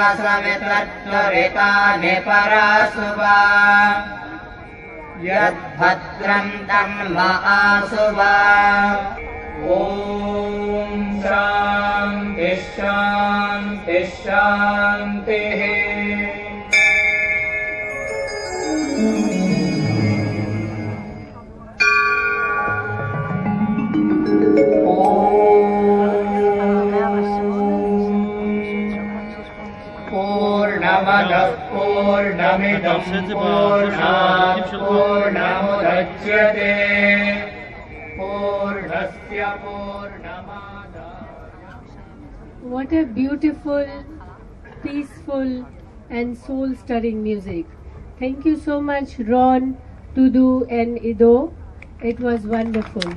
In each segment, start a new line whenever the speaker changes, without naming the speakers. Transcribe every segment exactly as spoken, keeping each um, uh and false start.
सवितर्त्वरितानि परासुवा यद्भद्रं तन्महासुवा ॐ शान्ति शान्ति शान्तिः पूर्णमदः पूर्णमिदं पूर्णात् पूर्णमुदच्यते पूर्णस्य पूर्णमादाय.
What a beautiful, peaceful and soul-stirring music. Thank you so much, Ron, Tudu and Ido. It was wonderful.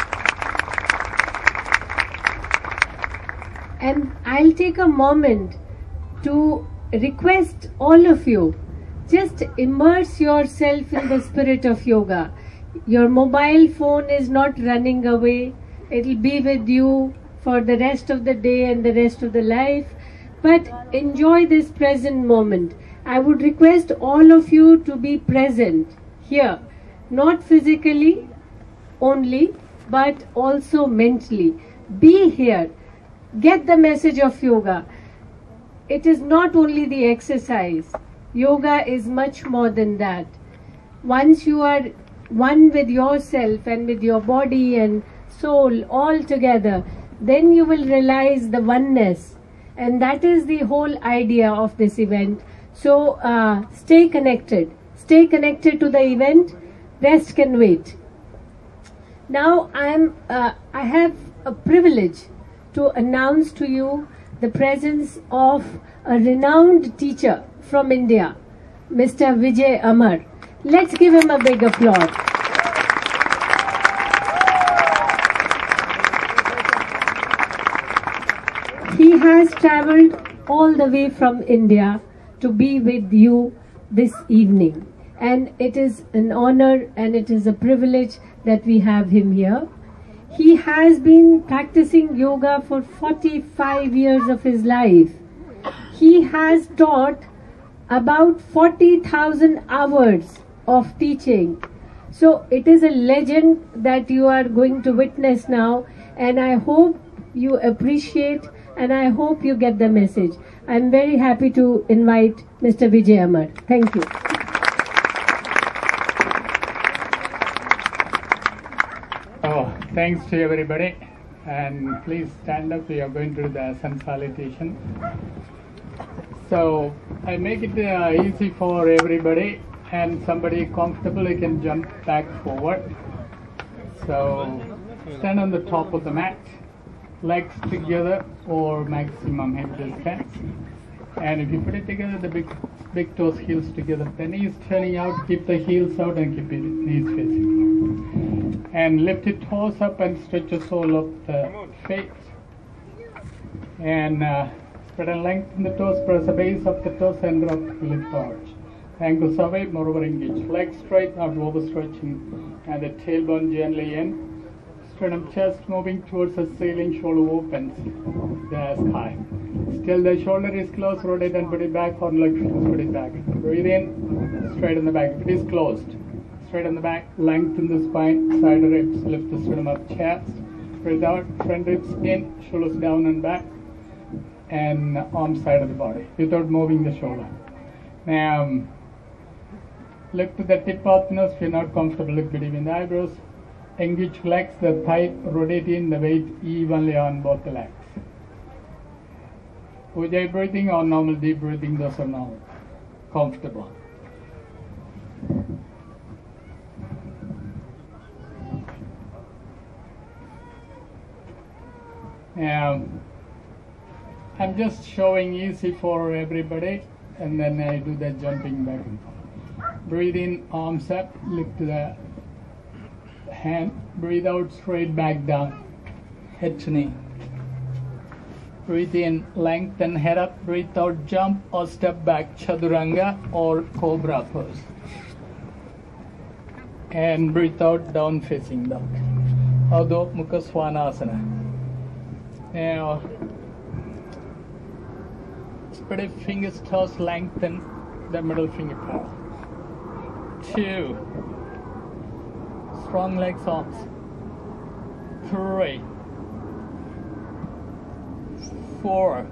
And I'll take a moment to request all of you, just immerse yourself in the spirit of yoga. Your mobile phone is not running away. It will be with you for the rest of the day and the rest of the life. But enjoy this present moment. I would request all of you to be present here, not physically only, but also mentally. Be here. Get the message of yoga. It is not only the exercise. Yoga is much more than that. Once you are one with yourself and with your body and soul all together, then you will realize the oneness. And that is the whole idea of this event. So uh, stay connected. Stay connected to the event. Rest can wait. Now I am. Uh, I have a privilege to announce to you the presence of a renowned teacher from India, Mister Vijay Amar. Let's give him a big applause. He has traveled all the way from India to be with you this evening. And it is an honor and it is a privilege that we have him here. He has been practicing yoga for forty-five years of his life. He has taught about forty thousand hours of teaching. So it is a legend that you are going to witness now, and I hope you appreciate and I hope you get the message. I am very happy to invite Mister Vijay Amar. Thank you.
Oh, thanks to everybody, and please stand up. We are going to do the sun salutation. So I make it uh, easy for everybody, and somebody comfortable, you can jump back forward. So stand on the top of the mat, legs together or maximum hip distance. And if you put it together, the big big toes, heels together, the knees turning out, keep the heels out and keep it knees facing. And lift your toes up and stretch your sole of the feet. And uh, spread and lengthen the toes, press the base of the toes and drop the lift arch. Ankles away, moreover engage. Legs straight, not overstretching. And the tailbone gently in. Sternum chest moving towards the ceiling, shoulder opens the sky. Still the shoulder is closed, rotate and put it back, or leg put it back. Breathe in, straight in the back. If it is closed, straight in the back, lengthen the spine, side ribs, lift the sternum up, chest. Breathe out, front ribs in, shoulders down and back, and arm side of the body, without moving the shoulder. Now, look to the tip of the nose. If you're not comfortable, look between the eyebrows. Engage legs, the thigh, rotate in the weight evenly on both the legs. Ujjayi breathing or normal deep breathing, those are normal. Comfortable. Um, I'm just showing easy for everybody, and then I do the jumping back and forth. Breathe in, arms up, lift the hand. Breathe out, straight back down, head to knee. Breathe in, lengthen head up. Breathe out, jump or step back, Chaturanga or Cobra pose. And breathe out, down facing dog, Adho Mukha Svanasana. Now, everybody, fingers toes lengthen the middle finger parallel. Two. Strong legs, arms. Three. Four.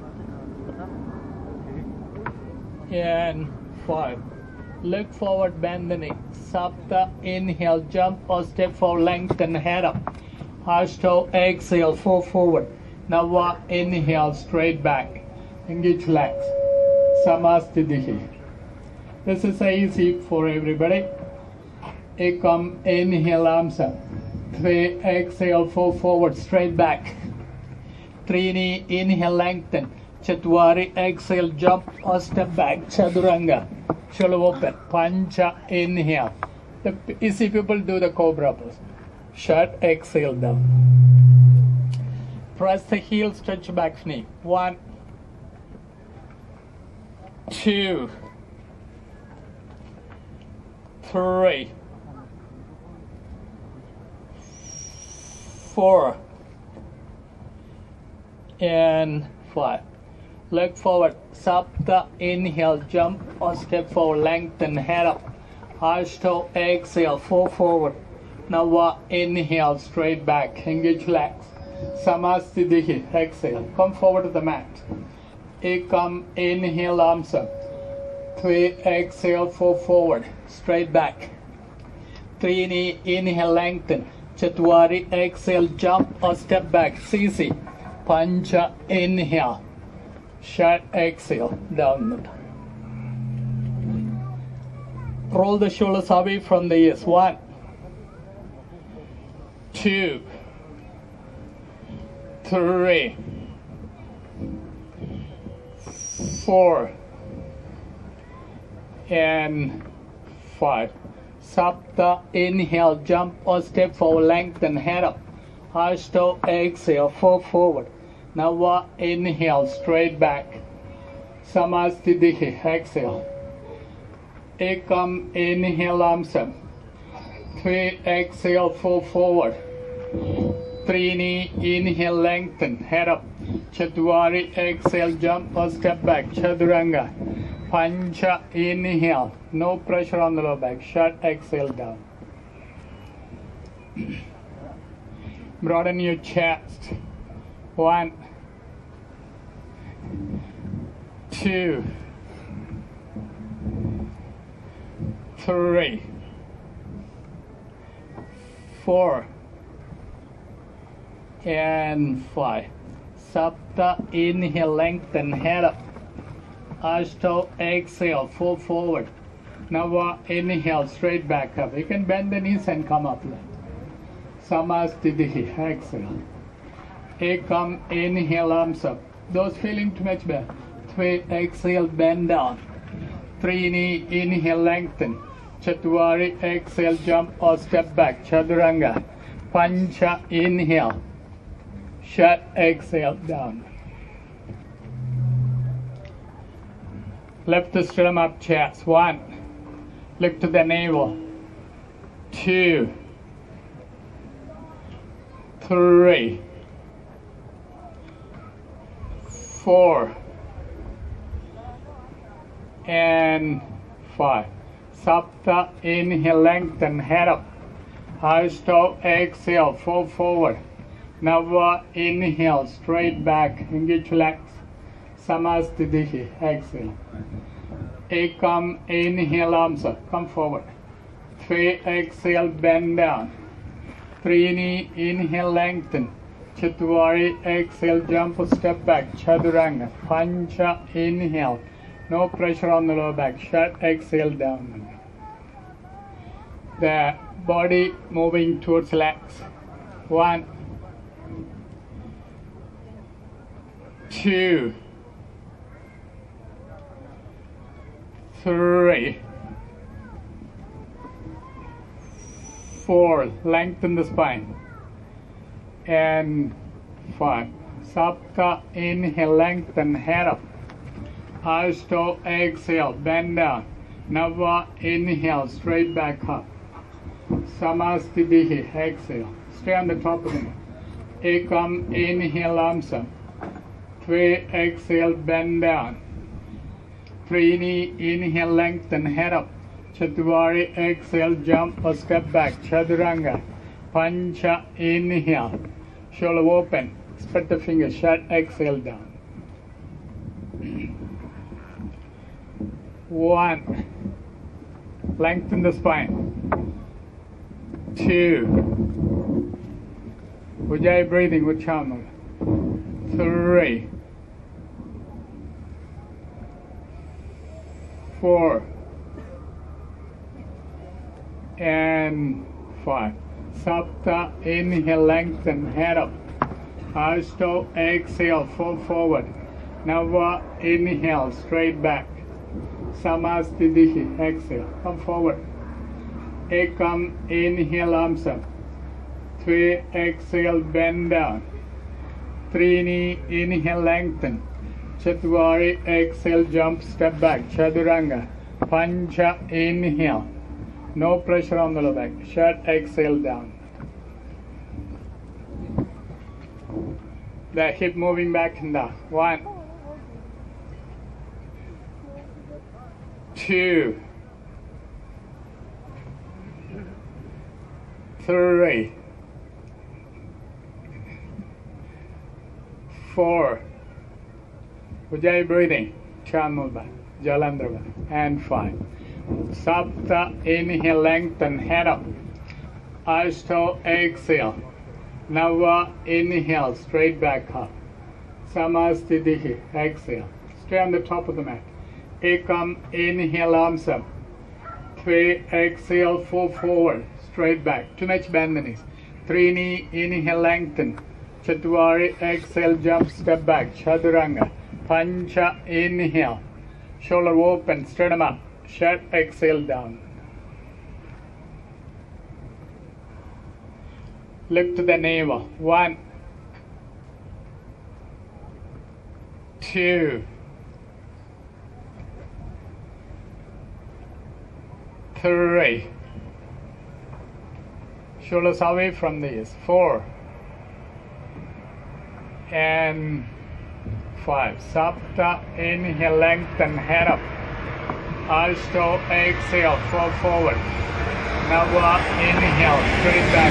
And five. Look forward, bend the knee. Sapta, inhale, jump or step forward, lengthen, head up. Ashto, exhale, fall forward. Nava, inhale, straight back. Engage legs. Samastitihi. This is easy for everybody. Ekam, inhale, arms up. Three, exhale, fall forward, straight back. Trini, inhale, lengthen. Chatwari, exhale, jump or step back. Chaduranga. Shoulder open. Pancha, inhale. The easy people do the cobra pose. Shut, exhale down. Press the heel, stretch back knee. One, two, three, four, and five. Leg forward, Sapta, inhale, jump or step forward, lengthen, head up. Ashto, exhale, fall forward. Nava, inhale, straight back, engage legs. Samastitihi, exhale, come forward to the mat. Ekam, inhale, arms up. Three, exhale, fall forward, straight back. Trini, inhale, lengthen. Chatwari, exhale, jump or step back, Sisi. Pancha, inhale. Shut, exhale, down. Roll the shoulders away from the ears. One, two, three, four, and five. Sapta, inhale, jump or step forward, lengthen, head up. Ashto, exhale, fall forward. Nava, inhale, straight back. Samastitihi, exhale. Ekam, inhale, arms up. Three, exhale, fall forward. Trini, inhale, lengthen, head up. Chatwari, exhale, jump or step back. Chaduranga. Pancha, inhale. No pressure on the lower back. Shut, exhale down. Broaden your chest. One, two, three, four, and five. Sapta, inhale, lengthen, head up. Ashto, exhale, fall forward. Nava, inhale, straight back up. You can bend the knees and come up. Samastitihi, exhale. Ekam, inhale, arms up. Those feeling too much better. Three, exhale, bend down. Trini, inhale, lengthen. Chatwari, exhale, jump or step back. Chaduranga. Pancha, inhale. Shut, exhale, down. Lift the sternum up, chest. One. Look to the navel. Two. Three. Four. And five. Sapta, inhale, lengthen, head up. Ashto, exhale, fall forward. Nava, inhale, straight back, engage legs. Samastitihi, exhale. Ekam, inhale, arms up, come forward. Three, exhale, bend down. Trini, inhale, lengthen. Chatwari, exhale, jump or step back. Chaduranga. Pancha, inhale. No pressure on the lower back. Shut, exhale, down. The body moving towards legs. One, two, three, four. Lengthen the spine. And five. Sapta, inhale, lengthen, head up. Ashto, exhale, bend down. Nava, inhale, straight back up. Samastitihi, exhale. Stay on the top of the neck. Ekam, inhale, arms up. Three, exhale, bend down. Three knee, inhale, lengthen, head up. Chatwari, exhale, jump or step back. Chaturanga. Pancha, inhale. Shoulder open. Spread the fingers, shut, exhale down. One. Lengthen the spine. Two. Ujjayi breathing, Uchanula. Three. Four. And five. Sapta, inhale, lengthen, head up. Ashto, exhale, fall forward. Nava, inhale, straight back. Samastitihi, exhale, come forward. Ekam, inhale, arms up. Three, exhale, bend down. Trini, inhale, lengthen. Chatwari, exhale, jump, step back. Chaturanga. Pancha, inhale. No pressure on the lower back. Shut, exhale, down. The hip moving back and down. One. Two. Three. Four. Ujjayi breathing. Chanmulba. Jalandhara. And five. Sapta, inhale, lengthen, head up. Ashto, exhale. Nava, inhale, straight back up. Samastitihi, exhale. Stay on the top of the mat. Ekam, inhale, arms up. Three, exhale, fall forward, straight back. Too much bend the knees. Trini, inhale, lengthen. Chatwari, exhale, jump, step back. Chaturanga. Pancha, inhale. Shoulder open, sternum up. Shut, exhale, down. Look to the navel. One. Two. Three. Shoulders away from these. Four. And five. Sapta, inhale, lengthen, head up. Ashto, exhale, fall forward. Nava, inhale, straight back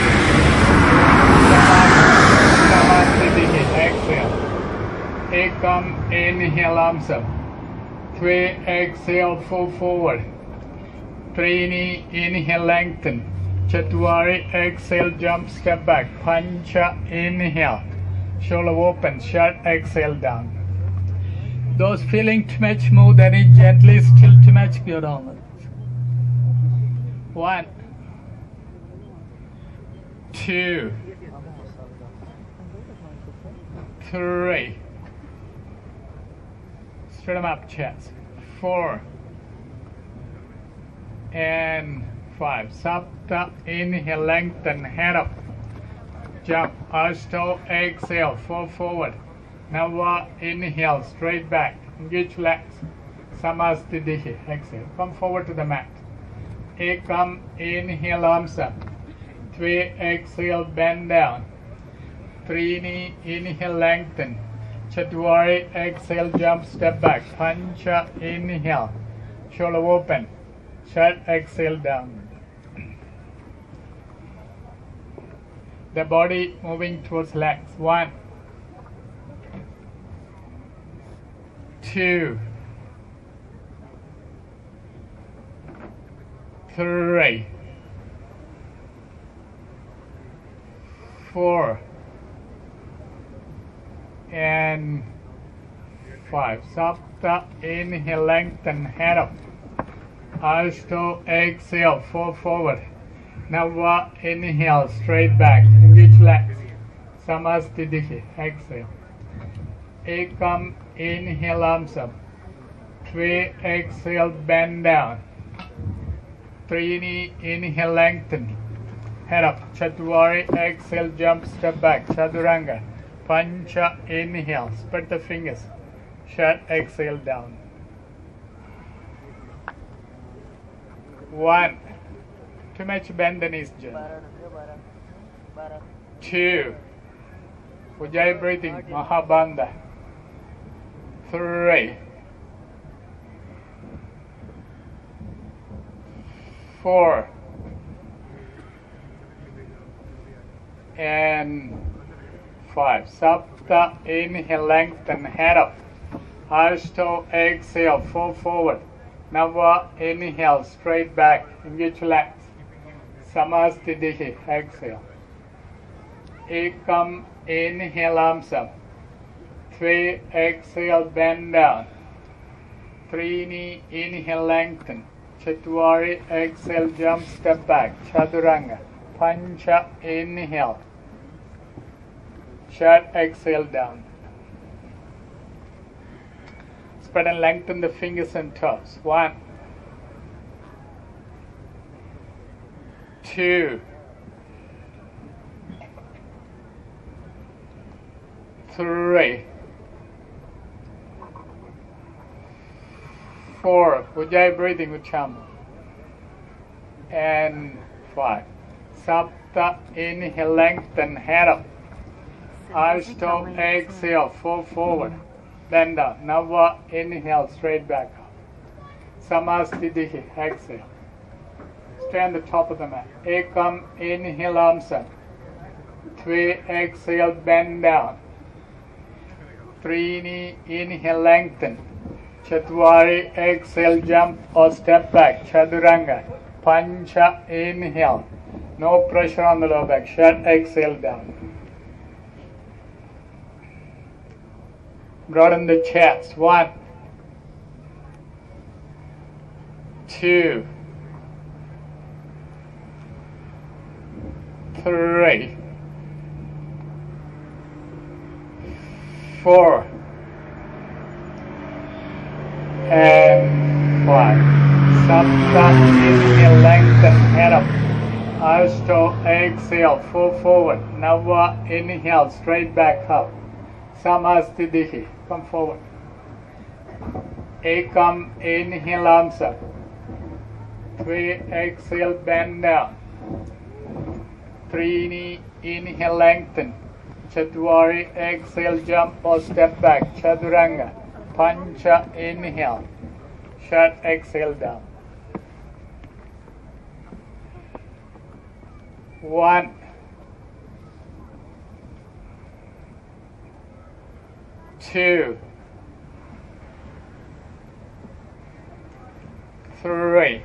up. Samastitihi, exhale. Ekam, inhale, arms up. Three, exhale, fall forward. Trini, inhale, lengthen. Chatwari, exhale, jump, step back. Pancha, inhale. Shoulder open, shut, exhale, down. Those feeling too much, move the knee gently, still too much, go down. One. Two. Three. Straight them up, chest. Four. And five. Sapta, inhale, lengthen, head up. Jump, ashto, exhale, fall forward. Nava, inhale, straight back. Engage legs. Samastitihi, exhale. Come forward to the mat. Ekam, inhale, arms up. Three, exhale, bend down. Trini, inhale, lengthen. Chatwari, exhale, jump, step back. Pancha, inhale. Shoulder open. Shut, exhale, down. The body moving towards legs. One. Two. Three. Four. And five. Sapta, inhale, lengthen, head up. Ashto, exhale, fall forward. Nava, inhale, straight back. Engage legs. Samastitihi, exhale. Ekam, inhale, arms up. Three, exhale, bend down. Trini, inhale, lengthen. Head up. Chatwari, exhale, jump, step back. Chaturanga. Pancha, inhale. Spread the fingers. Shut, exhale, down. One. Too much bend the knees, Jen. Two. Ujjayi breathing, Mahabandha. Three. four, and five. Sapta, inhale, lengthen, head up. Ashto, exhale, fall forward. Nava, inhale, straight back, engage legs. Samastitihi, exhale. Ekam, inhale, arms up. Three, exhale, bend down. Trini, inhale, lengthen. Chatwari, exhale, jump, step back. Chaturanga. Pancha, inhale. Shat, exhale, down. Spread and lengthen the fingers and toes. One, two, three, four. Ujjayi breathing with Cham. And five. Sapta, inhale, lengthen, head up. Ashto, exhale, fall forward. Bend down. Nava, inhale, straight back up. Samastitihi, exhale. Stay on the top of the mat. Ekam, inhale, arms up. Three, exhale, bend down. Trini, inhale, lengthen. Chatwari, exhale, jump or step back. Chaturanga. Pancha, inhale. No pressure on the lower back. Shat, exhale, down. Broaden the chest. One, two, three, four, and five. Sapta, inhale, lengthen, head up. Ashto, exhale, fall forward. Nava, inhale, straight back up. Samastitihi, come forward. Ekam, inhale, arms up. Three, exhale, bend down. Trini, inhale, lengthen. Chatwari, exhale, jump or step back. Chaturanga. Pancha, inhale. Shat, exhale, down. One, two, three,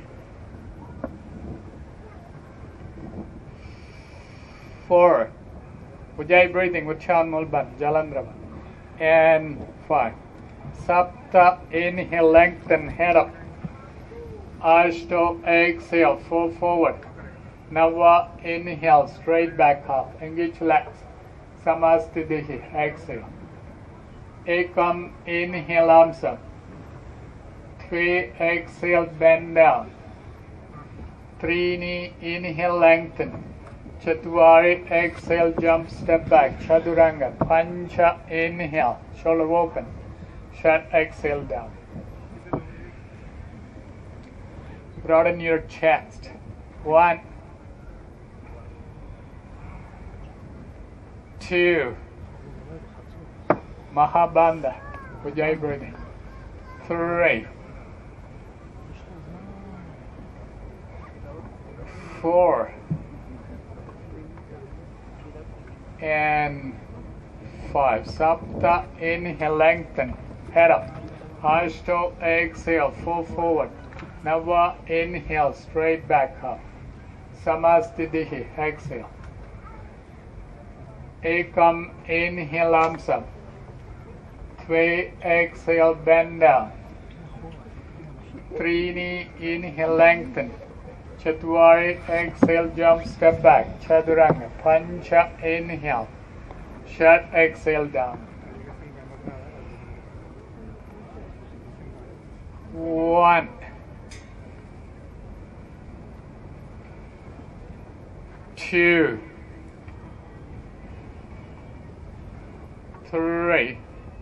four. Ujjayi breathing with Chan Mulban, Jalandrava. And five. Sapta, inhale, lengthen, head up. Ashto, exhale, fall forward. Nava, inhale, straight back up. Engage legs. Samastitihi, exhale. Ekam, inhale, arms up. Three, exhale, bend down. Trini, inhale, lengthen. Chatwari, exhale, jump, step back. Chaturanga. Pancha, inhale, shoulder open. Shat, exhale, down. Broaden your chest. One, two, Mahabandha, Ujjayi breathing. Three, four, and five. Sapta, inhale, lengthen, head up. Ashto, exhale, fall forward. Nava, inhale, straight back up. Samastitihi, exhale. Ekam, inhale, arms up. Three, exhale, bend down. Trini, inhale, lengthen. Chatwari, exhale, jump, step back. Chaturanga. Pancha, inhale. Shat, exhale, down. One, two, three,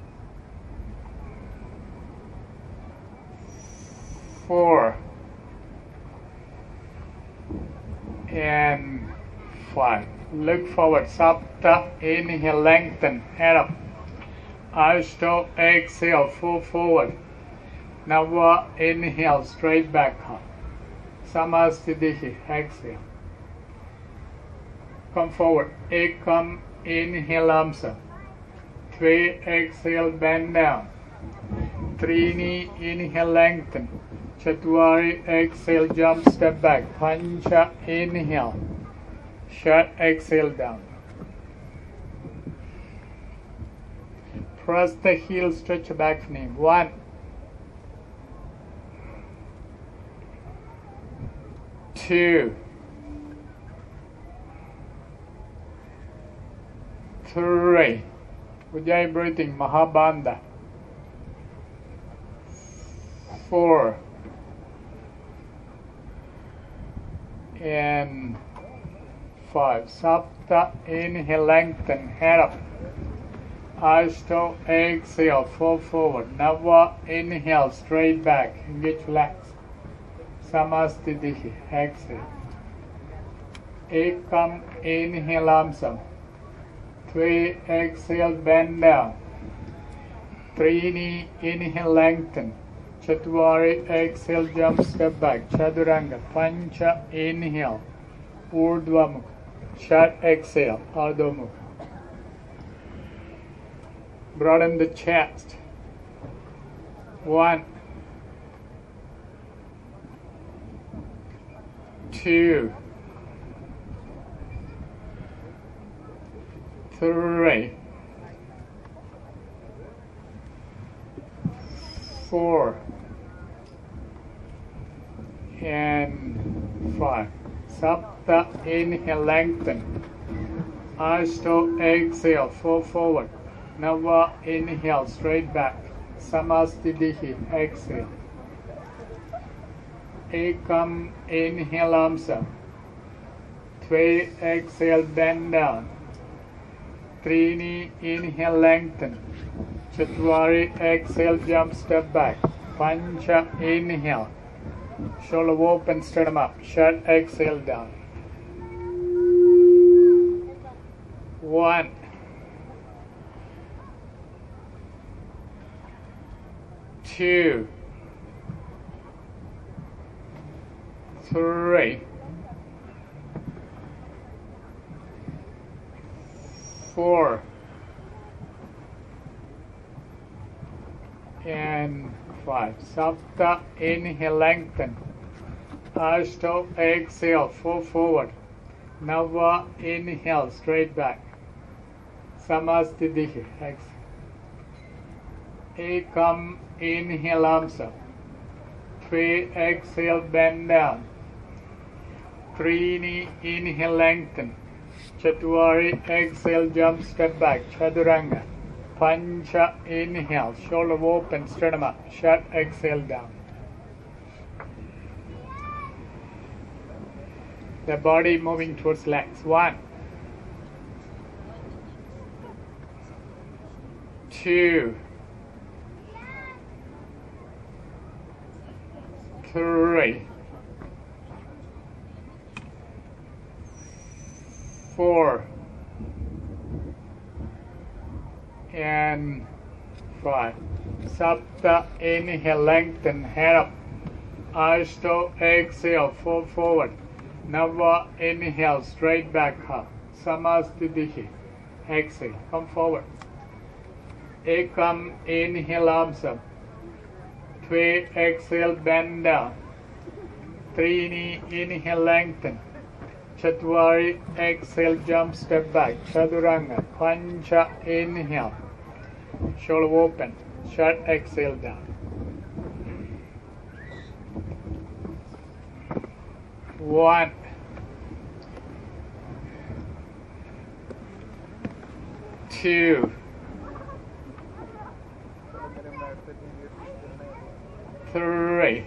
four, and five. Look forward. Sapta, inhale, lengthen, head up. Ashto, exhale, fall forward. Nava, inhale, straight back up. Samasthiti. Exhale. Come forward. Ekam. Inhale, arms up. Three. Exhale, bend down. Trini. Inhale, lengthen. Chatwari. Exhale, jump, step back. Pancha. Inhale. Shut. Exhale, down. Press the heel, stretch the back knee. One. Two. Three. Ujjayi breathing, Mahabandha. Four. And five. Sapta. Inhale, lengthen, head up. Ashto, exhale, fall forward. Nava, inhale, straight back, engage, relax. Samasthiti, exhale. Ekam, inhale, arms up. Three, exhale, bend down. Trini, inhale, lengthen. Chatwari, exhale, jump, step back. Chaturanga, Pancha, inhale. Urdhva Mukha. Shut, exhale, Ardha Mukha. Broaden the chest. One, two, three, four, and five. Sapta, inhale, lengthen. Ashto, exhale, fall forward. Nava, inhale, straight back. Samasthiti, exhale. Ekam, inhale, arms up. Three, exhale, bend down. Trini, inhale, lengthen. Chatwari, exhale, jump, step back. Pancha, inhale. Shoulder open, sternum up. Shut, exhale, down. One. Two, three, four, and five. Sapta, inhale, lengthen. Ashto, exhale, fall forward. Nava, inhale, straight back. Samasthiti, exhale. Ekam, inhale, arms up. Three, exhale, bend down. Trini, inhale, lengthen. Chatwari, exhale, jump, step back. Chaturanga. Pancha, inhale, shoulder open, sternum up. Shut, exhale, down. The body moving towards legs. One, two, three, four, and five. Sapta, inhale, lengthen, head up. Ashto, exhale, fall forward. Nava, inhale, straight back up. Samasthiti, exhale, come forward. Ekam, inhale, arms up. Three, exhale, bend down. Trini, inhale, lengthen. Chatwari, exhale, jump, step back. Chaturanga, Pancha, inhale. Shoulder open. Shut, exhale, down. One. Two. Three,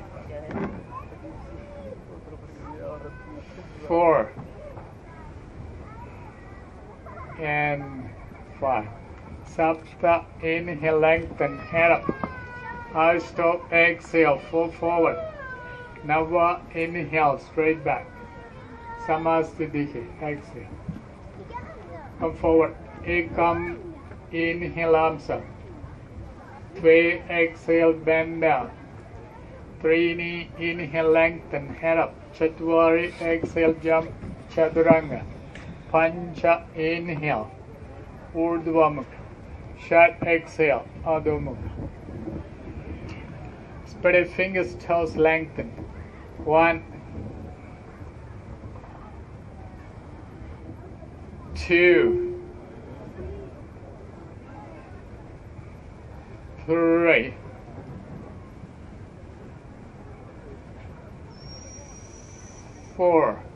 four, and five. Sapta, inhale, lengthen, head up. Ashto, exhale, fall forward. Nava, inhale, straight back. Samasthiti, exhale. Come forward. Ekam, inhale, arms up. Three, exhale, bend down. Trini, inhale, lengthen, head up. Chatwari, exhale, jump, Chaturanga. Pancha, inhale, Urdhva Mukha. Shat, exhale, Adho Mukha. Spread your fingers, toes, lengthen. One, two, three, four,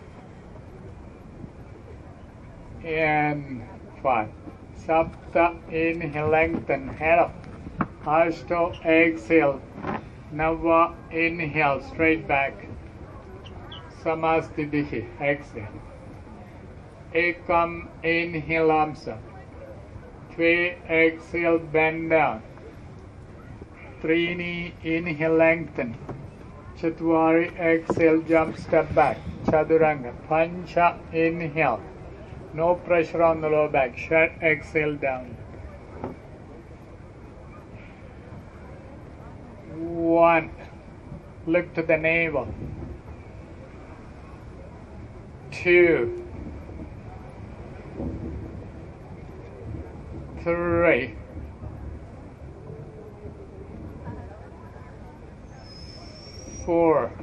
and five. Sapta, inhale, lengthen, head up. Ashto, exhale. Nava, inhale, straight back. Samastitihi, exhale. Ekam, inhale, arms up. Tve, exhale, bend down. Trini, inhale, lengthen. Chatwari, exhale, jump, step back. Chaturanga. Pancha, inhale. No pressure on the lower back. Shat, exhale, down. One. Look to the navel. Two. Three. Four.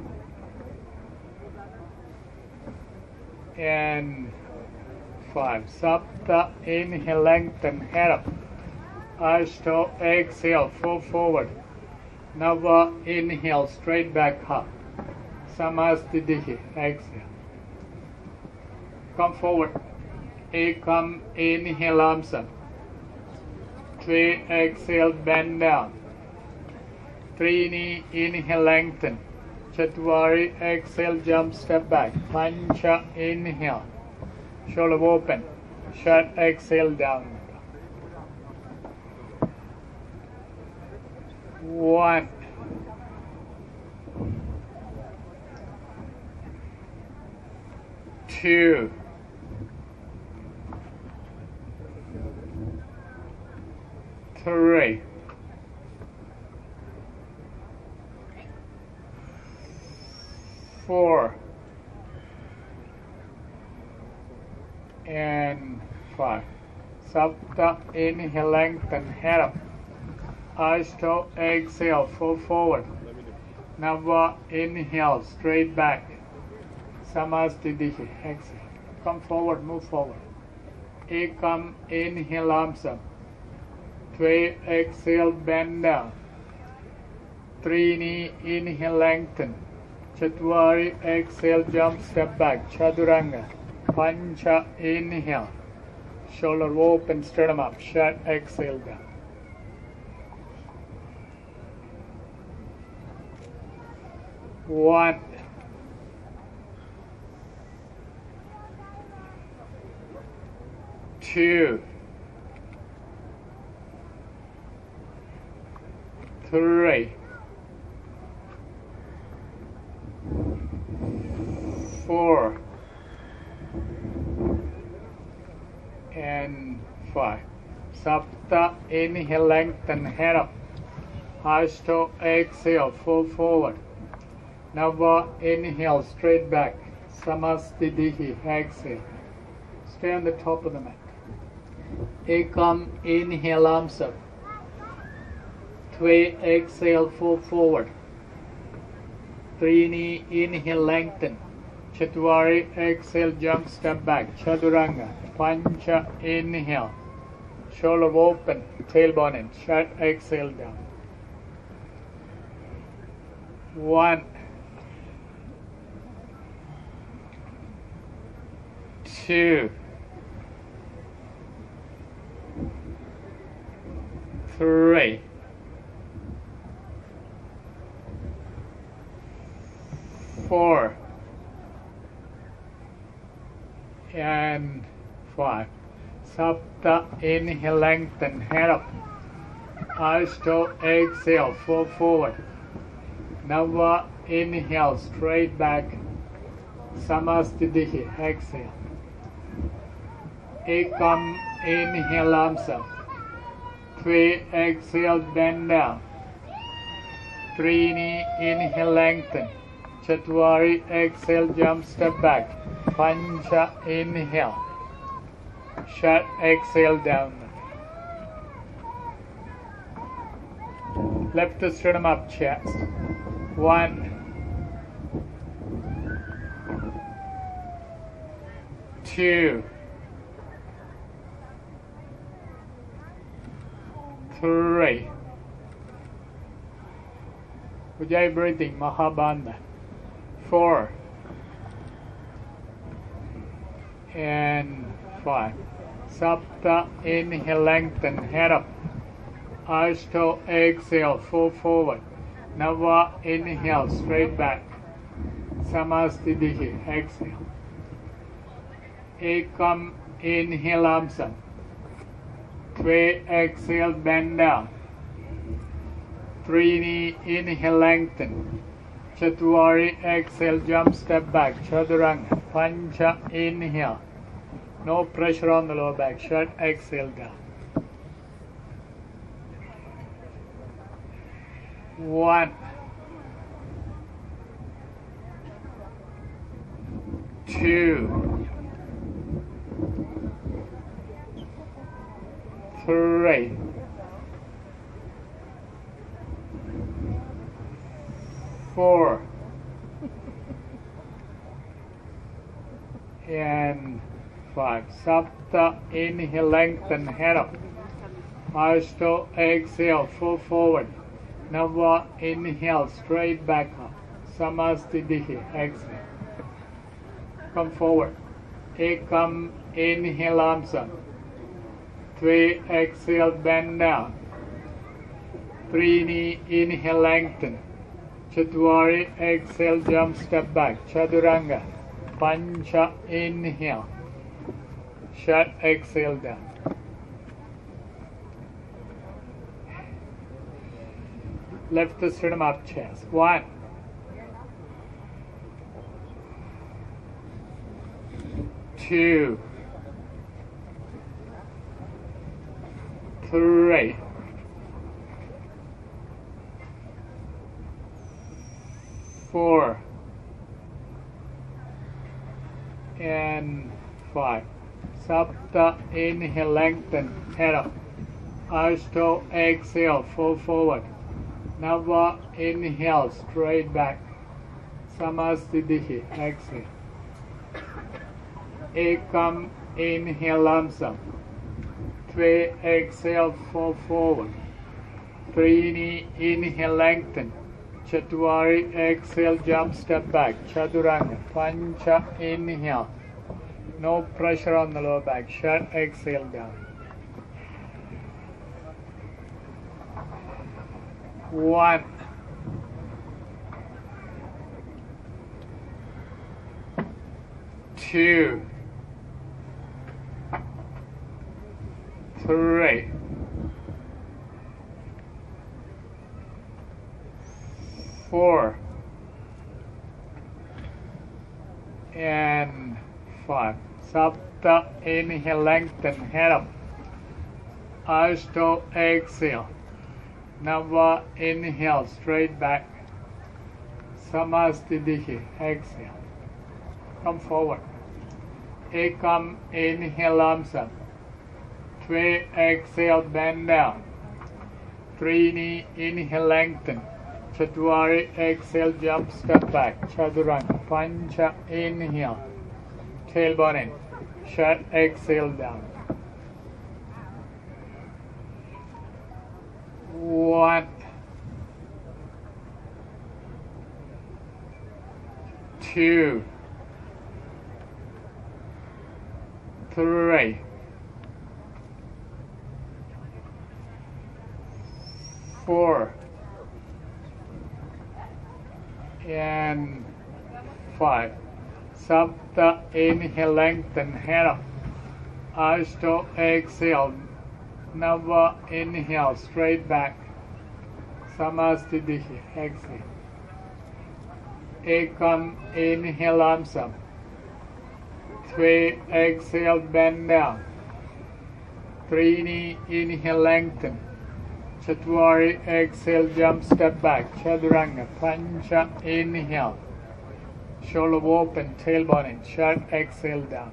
And five. Sapta, inhale, lengthen, head up. Ashto, exhale, fall forward. Nava, inhale, straight back up. Samastitihi, exhale. Come forward. Ekam, inhale, arms up. Tve, exhale, bend down. Trini, inhale, lengthen. Chatwari, exhale, jump, step back. Pancha, inhale. Shoulder open. Shut, exhale, down. One. Two. Three. Four. And five. Sapta, inhale, lengthen, head up. Ashto, exhale, fall forward. Nava, inhale, straight back. Samastitihi, exhale. Come forward, move forward. Ekam, inhale, arms up. Tve, exhale, bend down. Trini, inhale, lengthen. Chatwari, exhale, jump, step back. Chaturanga. Pancha, inhale. Shoulder open, sternum up. Shut, exhale, down. One. Two. Three. Four. And five. Sapta, inhale, lengthen, head up. Ashto, exhale, fall forward. Nava, inhale, straight back. Samastitihi, exhale. Stay on the top of the mat. Ekam, inhale, arms up. Tve, exhale, fall forward. Trini, inhale, lengthen. Chatwari, exhale, jump, step back. Chaturanga. Pancha, inhale. Shoulder open, tailbone in. Shut, exhale, down. One. Two. Three. Four. And five. Sapta, inhale, lengthen, head up. Ashto, exhale, fall forward. Nava, inhale, straight back. Samastitihi, exhale. Ekam, inhale, arms up. Tve, exhale, bend down. Trini, inhale, lengthen. Chatwari, exhale, jump, step back. Pancha, inhale. Shut, exhale, down. Left sternum up, chest. One. Two. Three. Ujjayi breathing, Mahabandha. Four. And five. Sapta, inhale, lengthen, head up. Ashto, exhale, fall forward. Nava, inhale, straight back. Samastitihi, exhale. Ekam, inhale, Amsam. Three, exhale, bend down. Trini, inhale, lengthen. Chatwari, exhale, jump, step back. Chaturanga. Pancha, inhale. No pressure on the lower back. Shut, exhale, down. One. Two. Three. Four. And five. Sapta, inhale, lengthen, head up. Ashto, exhale, fall forward. Nava, inhale, straight back up. Samastitihi, exhale. Come forward. Ekam, inhale, Amsam. Three, exhale, bend down. Trini, inhale, lengthen. Chatwari, exhale, jump, step back. Chaturanga. Pancha, inhale. Shut, exhale, down. Left sternum up, chest. One. Two. Three. Four. And five. Sapta, inhale, lengthen, head up. Ashto, exhale, fall forward. Nava, inhale, straight back. Samastitihi, exhale. Ekam, inhale, Amsam. Three, exhale, fall forward. Trini, inhale, lengthen. Chatwari, exhale, jump, step back. Chaturanga. Pancha, inhale. No pressure on the lower back. Shut, exhale, down. One. Two. Three. Four. And five. Sapta, inhale, lengthen, head up. Ashto, exhale. Nava, inhale, straight back. Samastitihi, exhale. Come forward. Ekam, inhale, Amsam. Three, exhale, bend down. Trini, inhale, lengthen. Chatwari, exhale, jump, step back. Chaturanga. Pancha, inhale. Tailbone in. Shut, exhale, down. One. Two. Three. Four. And five. Sapta, inhale, lengthen, head up. Ashto, exhale. Nava, inhale, straight back. Samastitihi, exhale. Ekam, inhale, Amsam. Three, exhale, bend down. Trini, inhale, lengthen. Chatwari, exhale, jump, step back, Chaturanga, Pancha, inhale, shoulder open, tailbone in, shut, exhale down.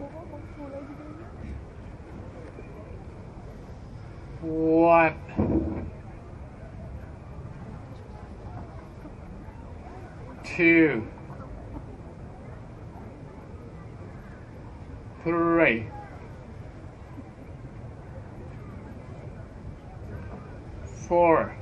One, two, three, four,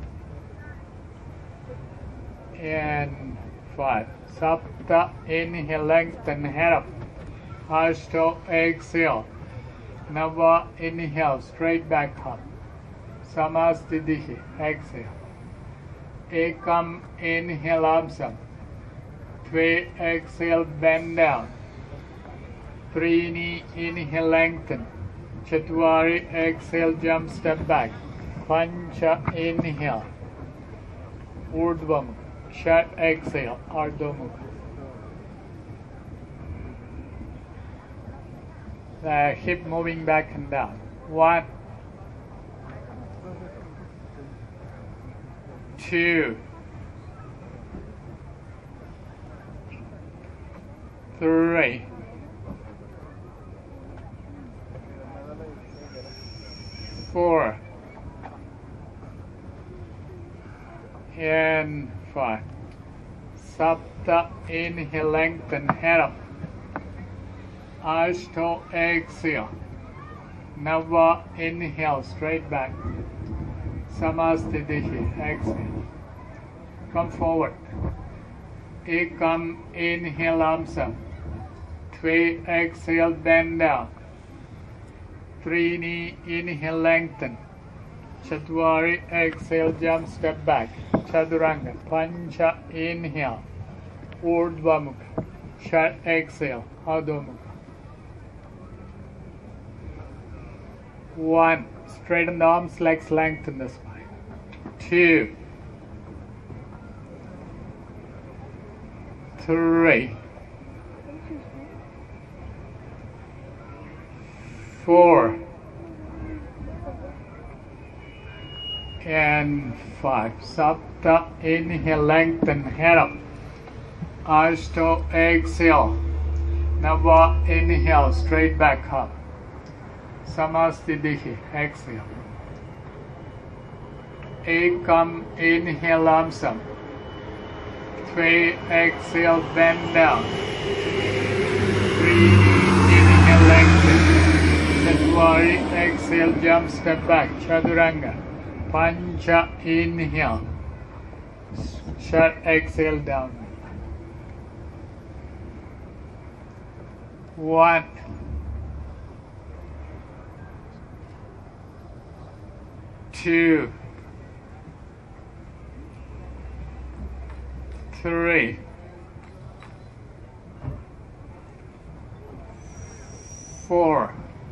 and five. Sapta, inhale, lengthen, head up. Ashto, exhale. Nava, inhale, straight back up. Samasthiti, exhale. Ekam, inhale, arms up. Twe, exhale, bend down. Trini, inhale, lengthen. Chatwari, exhale, jump, step back. Pancha, inhale. Urdhva Mukha. Shat, exhale. Ardha Mukha. The hip moving back and down. One, two, three, four, and five. Sapta, inhale, lengthen, head up. Ashto, exhale. Nava, inhale, straight back. Samasthiti, exhale. Come forward. Ekam, inhale, arms up. Twe, exhale, bend down. Trini, inhale, lengthen. Chatwari, exhale, jump, step back. Chaturanga, Pancha, inhale. Urdhva Mukha. Shat, exhale. Adho Mukha. One, straighten the arms, legs, lengthen the spine. Two, three, four, and five. Sapta, inhale, lengthen, head up. Ashto, exhale. Nava, inhale, straight back up. Samasthiti, exhale. Ekam, inhale, arms up. Twe, exhale, bend down. Three, inhale, lengthen. Chatwari, exhale, jump, step back. Chaturanga. Pancha, inhale. Shut, exhale, down. One, two, three, four,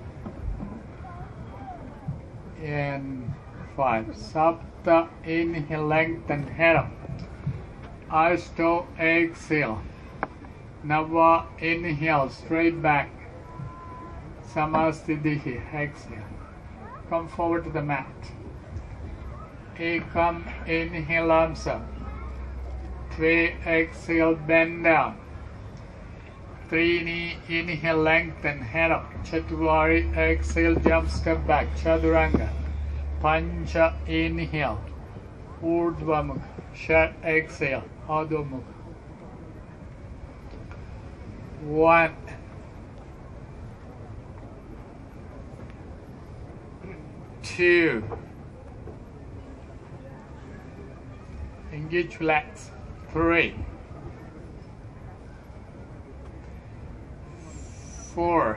and five. Sapta, inhale, lengthen, head up. Ashto, exhale. Nava, inhale, straight back. Samasthiti, exhale. Come forward to the mat. Ekam, inhale, arms up. Twe, exhale, bend down. Trini, inhale, lengthen, head up. Chatwari, exhale, jump, step back. Chaturanga. Pancha, inhale. Urdhva Mukha. Shat, exhale. Adho Mukha. One, two, engage, relax. Three, four,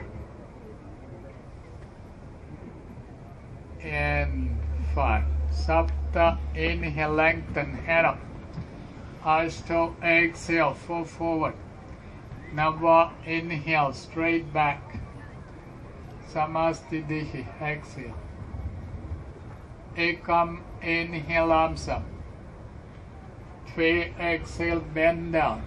and five. Sapta, inhale, lengthen, head up. Ashto, exhale, fall forward. Nava, inhale, straight back. Samasthiti, exhale. Ekam, inhale, arms up. Twe, exhale, bend down.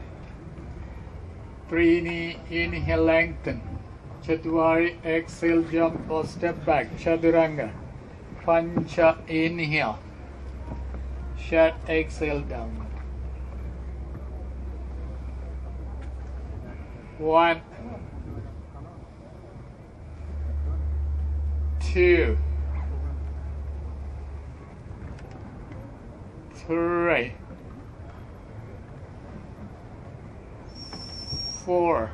Trini, inhale, lengthen. Chatwari, exhale, jump or step back. Chaturanga. Pancha, inhale. Shut, exhale down. One, two, three, four,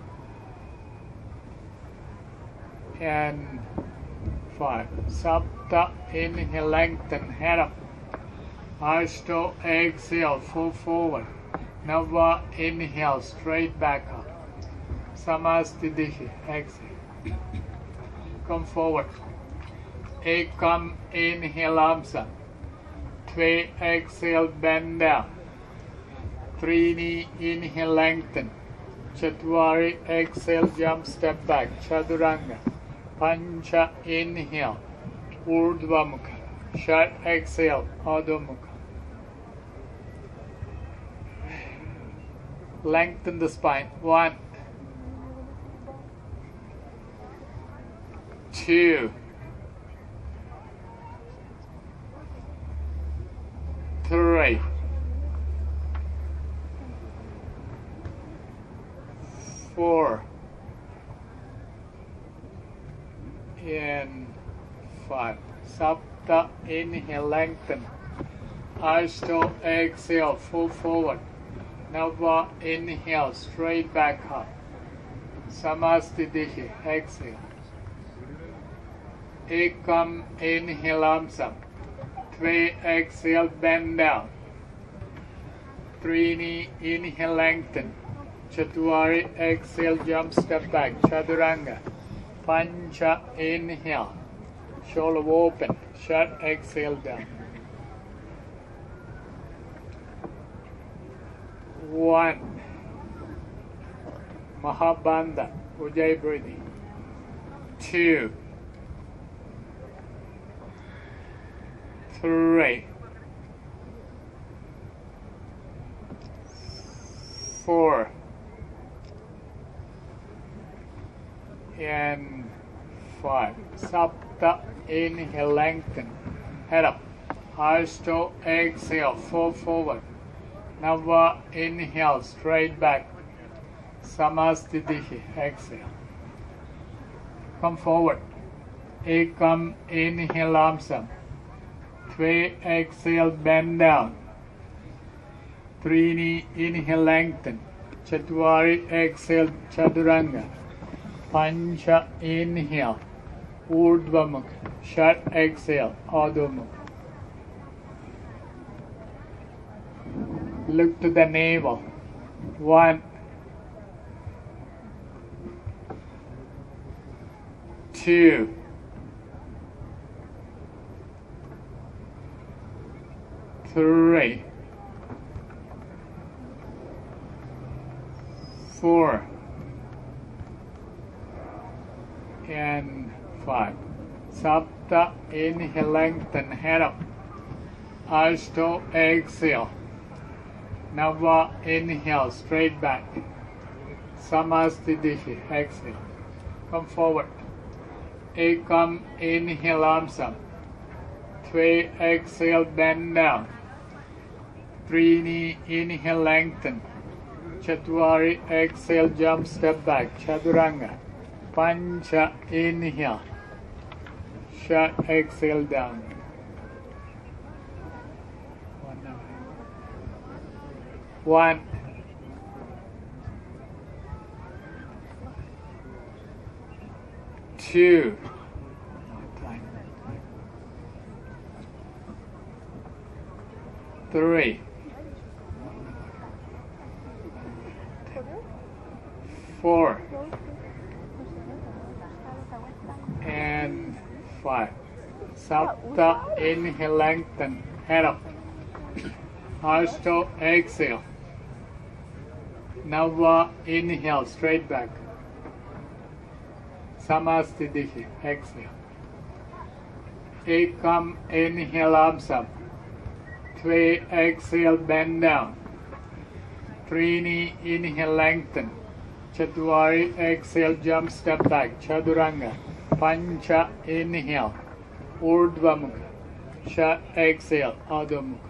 and five. Sapta, inhale, lengthen, head up. Ashto, exhale, full forward. Nava, inhale, straight back up. Samastitihi, exhale. Come forward. Ekam, inhale, arms up. Tve, exhale, bend down. Trini, inhale, lengthen. Chatwari, exhale, jump, step back. Chaduranga. Pancha, inhale. Urdhva Mukha. Shut, exhale, Adho Mukha. Lengthen the spine. One, two, three, four, and five. Sapta, inhale, lengthen. Ashto, exhale, full forward. Nava, inhale, straight back up. Samastitihi, exhale. Ekam, inhale, arms up. Tve, exhale, bend down. Trini, inhale, lengthen. Chatwari, exhale, jump, step back. Chaduranga. Pancha, inhale. Shoulder open. Shut, exhale, down. One. Mahabandha, Ujjayi breathing. Two. Three. Four. And five. Sapta, inhale, lengthen. Head up. Ashto, exhale, fall forward. Nava, inhale, straight back. Samastitihi, exhale. Come forward. Ekam, inhale, arms up. Tve, exhale, bend down. Trini, inhale, lengthen. Chatwari, exhale, Chaduranga. Pancha, inhale. Urdhva Mukha. Shut, exhale, Adho Mukha. Look to the navel. One, two, three, four, and five. Sapta, inhale, lengthen, head up. Ashto, exhale. Nava, inhale, straight back. Samastitihi, exhale. Come forward. Ekam, inhale, arms up. Tve, exhale, bend down. Trini, inhale, lengthen. Chatwari, exhale, jump, step back. Chaduranga. Pancha, inhale. Shut, exhale, down. One, two, three, four, and five. Sapta, inhale, lengthen, head up. Ashto, exhale. Nava, inhale, straight back. Samastitihi, exhale. Ekam, inhale, arms up. Tve, exhale, bend down. Trini, inhale, lengthen. Chatwari, exhale, jump, step back. Chaduranga. Pancha, inhale. Urdhva Mukha. Shut, exhale, Adho Mukha.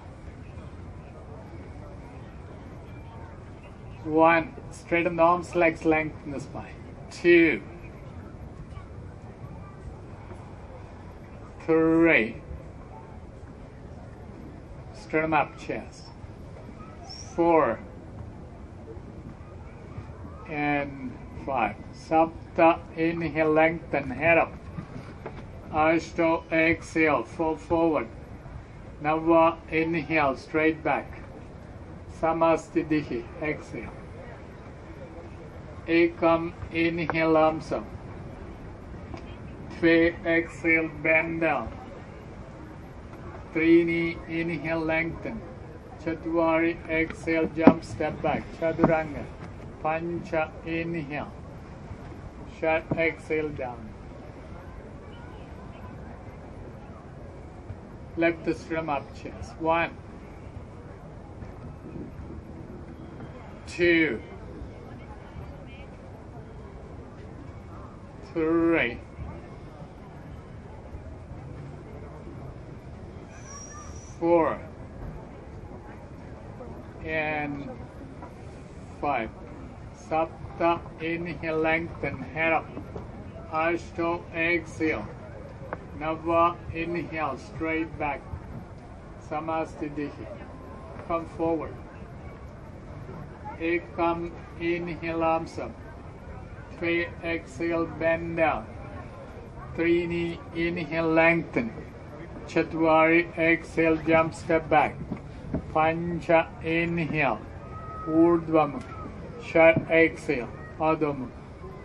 One, straighten the arms, legs, lengthen the spine. Two, three, straighten up chest. Four, and five. Sapta, inhale, lengthen, head up. Ashto, exhale, fall forward. Nava, inhale, straight back. Samastitihi, exhale. Ekam, inhale, arms up. Tve, exhale, bend down. Trini, inhale, lengthen. Chatwari, exhale, jump, step back. Chaturanga. Pancha, inhale. Shut, exhale, down. Lift the sternum up, chest. One, two, three, four, and five. Sapta, inhale, lengthen, head up. Ashto, exhale. Nava, inhale, straight back. Samastitihi. Come forward. Ekam, inhale, arms up. Tve, exhale, bend down. Trini, inhale, lengthen. Chatwari, exhale, jump, step back. Pancha, inhale. Urdhva Mukha. Shut, exhale, Adho Mukha.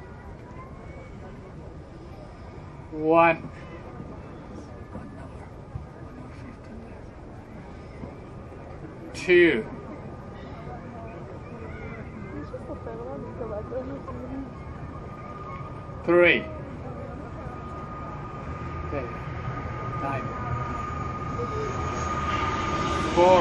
One. Two. Three. Okay. Nine. Four.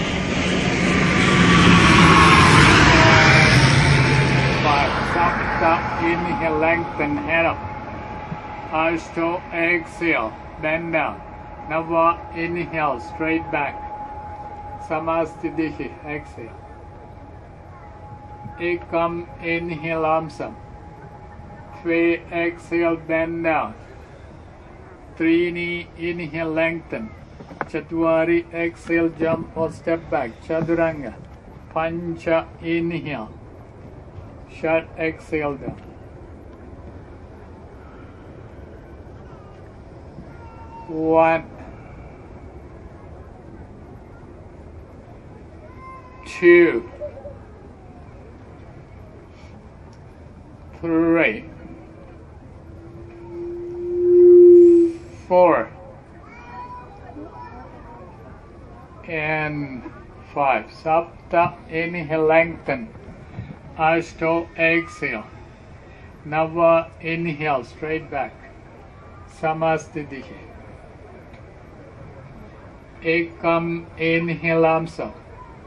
Five. Sapta, inhale, lengthen, head up. Ashto, exhale, bend down. Nava, inhale, straight back. Samastitihi, exhale. Ekam, inhale, arms up. Tve, exhale, bend down. Trini, inhale, lengthen. Chatwari, exhale, jump or step back. Chaturanga. Pancha, inhale. Shut, exhale down. One, two, three, four, and five. Sapta, inhale, lengthen. Ashto, exhale. Nava, inhale, straight back. Samastitihi. Ekam, inhale, arms up.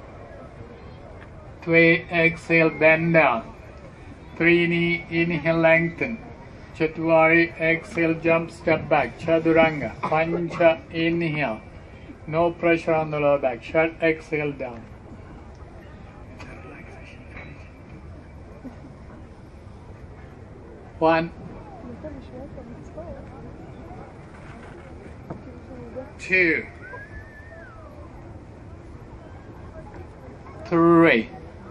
Tve, exhale, bend down. Trini, inhale, lengthen. Chatwari, exhale, jump, step back. Chaturanga. Pancha, inhale. No pressure on the lower back. Shut, exhale, down. One, two, three,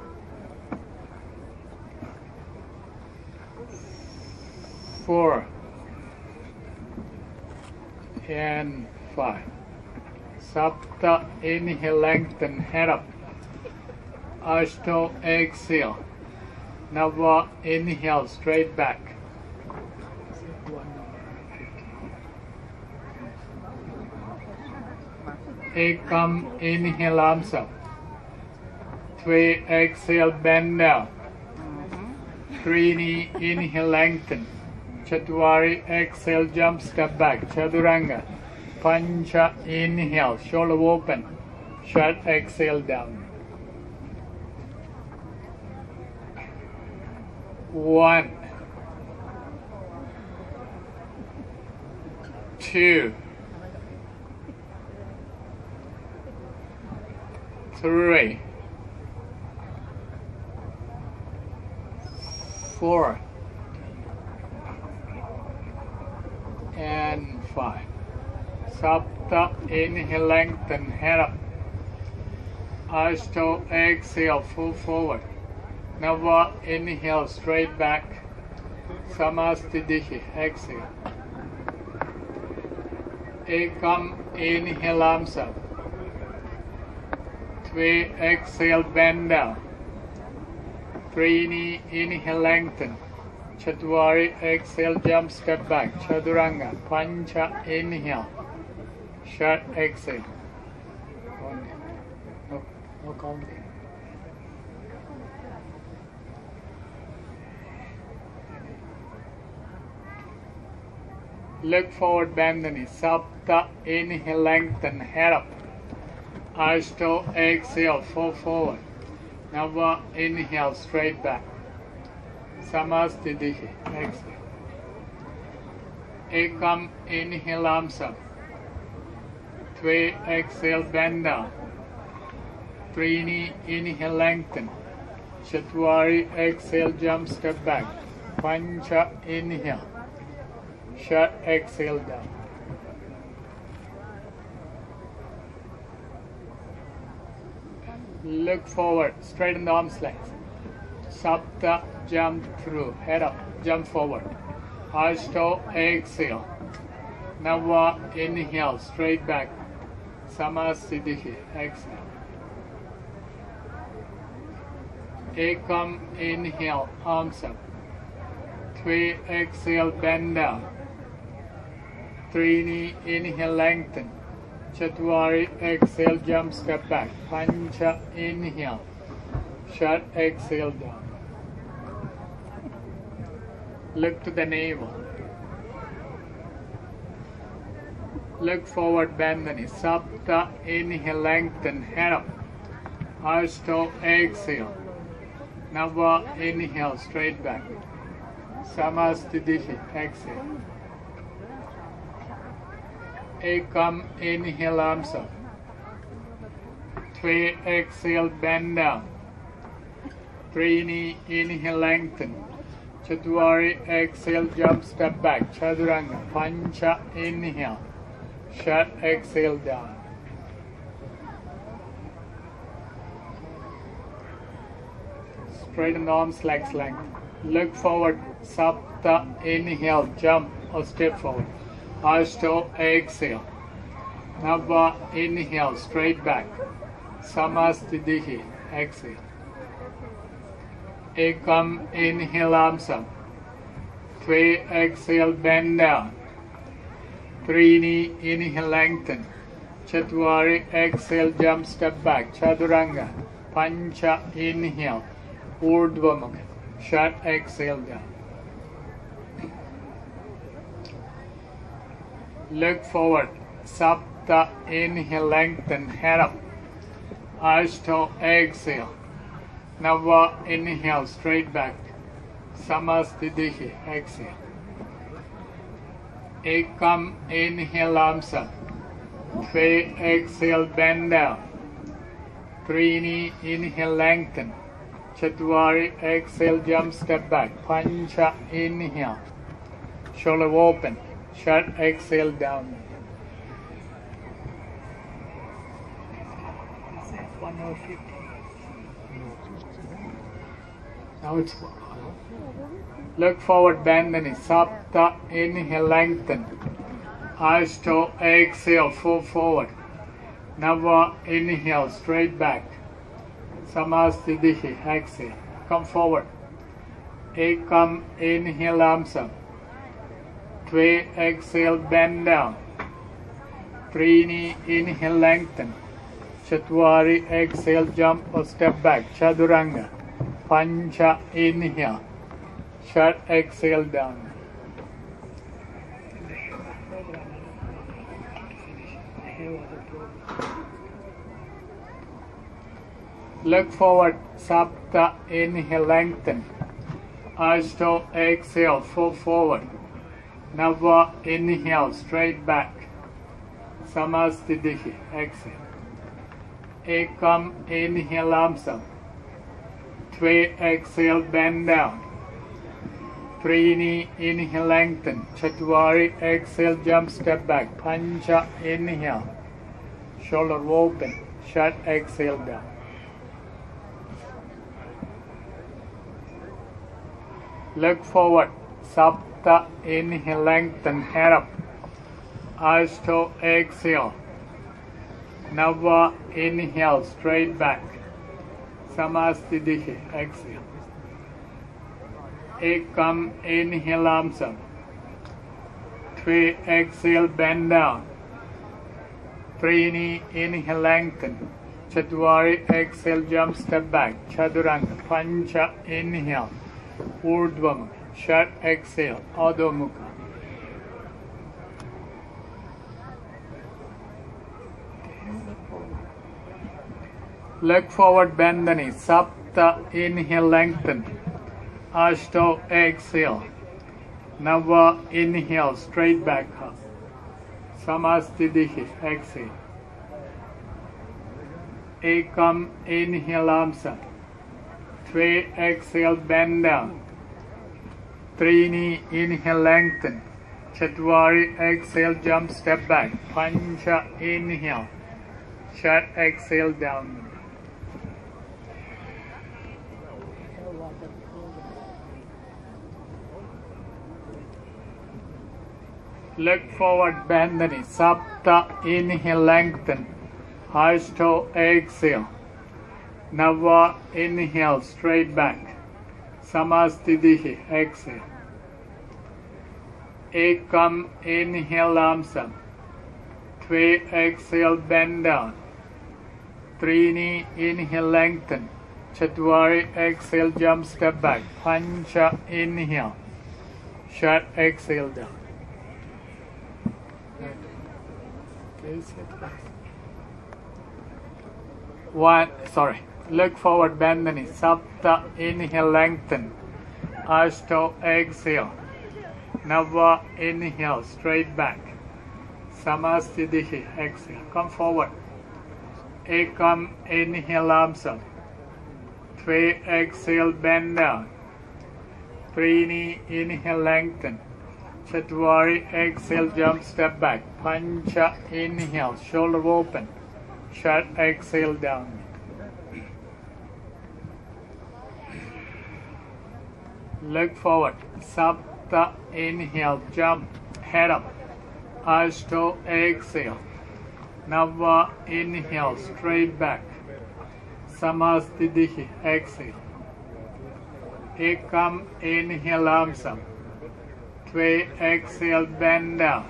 four, and five. Sapta, inhale, lengthen, head up. Ashto, exhale. Nava, inhale, straight back. Ekam, inhale, arms up. Tve, exhale, bend down. Trini, inhale, lengthen. Chatwari, exhale, jump, step back. Chaturanga. Pancha, inhale, shoulder open. Shut, exhale, down. One, two, three, four, and five. Sapta, inhale, lengthen, head up. Ashto, exhale, full forward. Nava, inhale, straight back. Samastitihi, exhale. Ekam, inhale, arms up. Three, exhale, bend down. Trini, inhale, lengthen. Chatwari, exhale, jump, step back. Chaturanga, Pancha, inhale. Shut, exhale. No, no counting. Look forward, bend the knee. Sapta, inhale, lengthen, head up. Ashto, exhale, fall forward. Nava, inhale, straight back. Samastitihi, exhale. Ekam, inhale, arms up. Three, exhale, bend down. Trini, inhale, lengthen. Chatwari, exhale, jump, step back. Pancha, inhale. Shut, exhale, down. Look forward, straighten the arms length. Sapta, jump through, head up, jump forward. Ashto, exhale. Nava, inhale, straight back. Samastitihi, exhale. Ekam, inhale, arms up. Three, exhale, bend down. Trini, inhale, lengthen. Chatwari, exhale, jump, step back. Pancha, inhale. Shut, exhale, down. Look to the navel. Look forward, bend the knee. Sapta, inhale, lengthen, head up. Ashto, exhale. Nava, inhale, straight back. Samastitihi, exhale. Ekam, inhale, arms up. Three, exhale, bend down. Trini, inhale, lengthen. Chatwari, exhale, jump, step back. Chaturanga, Pancha, inhale. Shut, exhale, down. Straighten the arms, legs length. Look forward, Sapta, inhale, jump or step forward. Ashto, exhale. Nava, inhale, straight back. Samastitihi, exhale. Ekam, inhale, arms up. Three, exhale, bend down. Trini, inhale, lengthen. Chatwari, exhale, jump, step back. Chaturanga, Pancha, inhale. Urdhva Mukha. Shut, exhale, down. Look forward. Sapta, inhale, lengthen, head up. Ashto, exhale. Nava, inhale, straight back. Samastitihi, exhale. Ekam, inhale, arms up. Three, exhale, bend down. Trini, inhale, lengthen. Chatwari, exhale, jump, step back. Pancha, inhale. Shoulder open. Shut, exhale, down. one hour fifty. Now it's look forward, bend the knee. Sapta, inhale, lengthen. Ashto, exhale, full forward. Nava, inhale, straight back. Samastitihi, exhale. Come forward. Ekam, inhale, arms up. Three, exhale, bend down. Trini, inhale, lengthen. Chatwari, exhale, jump or step back. Chaturanga. Pancha, inhale. Shut, exhale, down. Look forward, Sapta, inhale, lengthen. Ashto, exhale, full forward. Nava, inhale, straight back. Samastitihi, exhale. Ekam, inhale, arms up. Three, exhale, bend down. Trini, inhale, lengthen. Chatwari, exhale, jump, step back. Pancha, inhale. Shoulder open. Shut, exhale, down. Look forward. Sapta, inhale, lengthen, head up. Ashto, exhale. Nava, inhale, straight back. Samastitihi, exhale. Ekam, inhale, arms up. Three, exhale, bend down. Trini, inhale, lengthen. Chatwari, exhale, jump, step back. Chaduranga, Pancha, inhale. Urdhva, Shat, exhale. Adho Mukha. Leg forward, bend the knee. Sapta, inhale, lengthen. Ashto, exhale. Nava, inhale, straight back up. Samastitihi, exhale. Ekam, inhale, arms up. Three, exhale, bend down. Trini, inhale, lengthen. Chatwari, exhale, jump, step back. Pancha, inhale. Shat, exhale, down. Leg forward, bend the knee. Sapta, inhale, lengthen. Ashto, exhale. Nava, inhale, straight back. Samastitihi, exhale. Ekam, inhale, arms up. Three, exhale, bend down. Trini, inhale, lengthen. Chatwari, exhale, jump, step back. Pancha, inhale. Shat, exhale, down. One, sorry. Look forward, bend the knee. Sapta, inhale, lengthen. Ashto, exhale. Nava, inhale, straight back. Samastitihi, exhale. Come forward. Ekam, inhale, arms up. Three, exhale, bend down. Trini, inhale, lengthen. Chatwari, exhale, jump, step back. Pancha, inhale, shoulder open. Shut, exhale, down. Look forward. Sapta, inhale, jump, head up. Ashto, exhale. Nava, inhale, straight back. Samastitihi, exhale. Ekam, inhale, arms up. Three, exhale, bend down.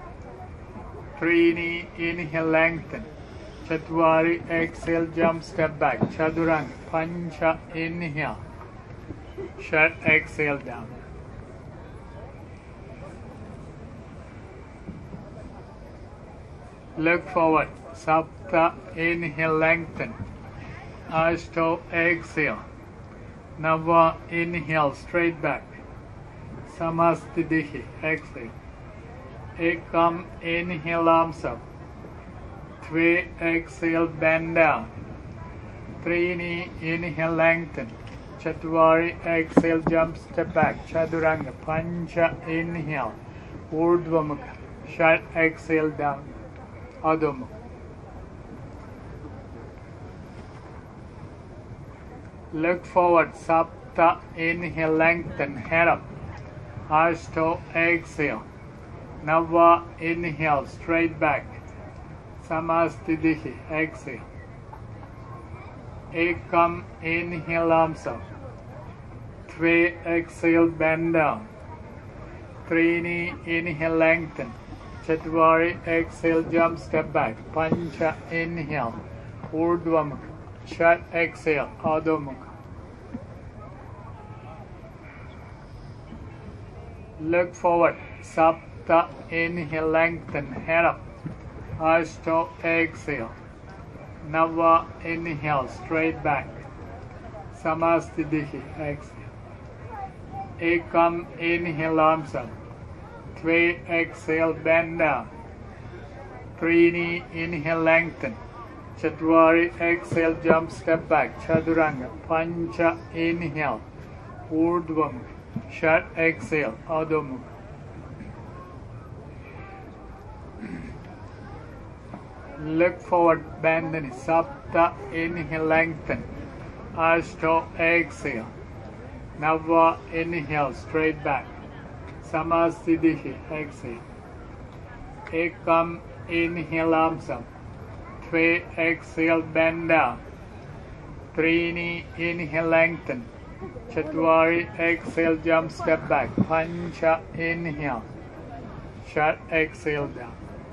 Trini, inhale, lengthen. Chatwari, exhale, jump, step back. Chaduranga, Pancha, inhale. Shut, exhale, down. Look forward. Sapta, inhale, lengthen. Ashto, exhale. Nava, inhale, straight back. Samastitihi, exhale. Ekam, inhale, arms up. Three, exhale, bend down. Trini, inhale, lengthen. Chatwari, exhale, jump, step back. Chaduranga, Pancha, inhale. Urdhva Mukha. Shat, exhale, down. Adho Mukha. Look forward. Sapta, inhale, lengthen, head up. Ashto, exhale. Nava, inhale, straight back. Samastitihi, exhale. Ekam, inhale, arms up. Three, exhale, bend down. Trini, inhale, lengthen. Chatwari, exhale, jump, step back. Pancha, inhale. Urdhva Mukha. Shat, exhale. Adho Mukha. Look forward. Sapta, inhale, lengthen, head up. Ashto, exhale. Nava, inhale, straight back. Samastitihi, exhale. Ekam, inhale, arms up. Three, exhale, bend down. Trini, inhale, lengthen. Chatwari, exhale, jump, step back, Chaturanga, Pancha, inhale, Urdhvamukha, Shat, exhale, Adho Mukha. Look forward, Bandhani, Sapta, inhale, lengthen, Ashto, exhale, Nava, inhale, straight back, Samasthitihi, exhale, Ekam, inhale, arms up, Tve, exhale, bend down, Trini, inhale, lengthen, Chatwari, exhale, jump, step back, Pancha, inhale, Shat, exhale, down.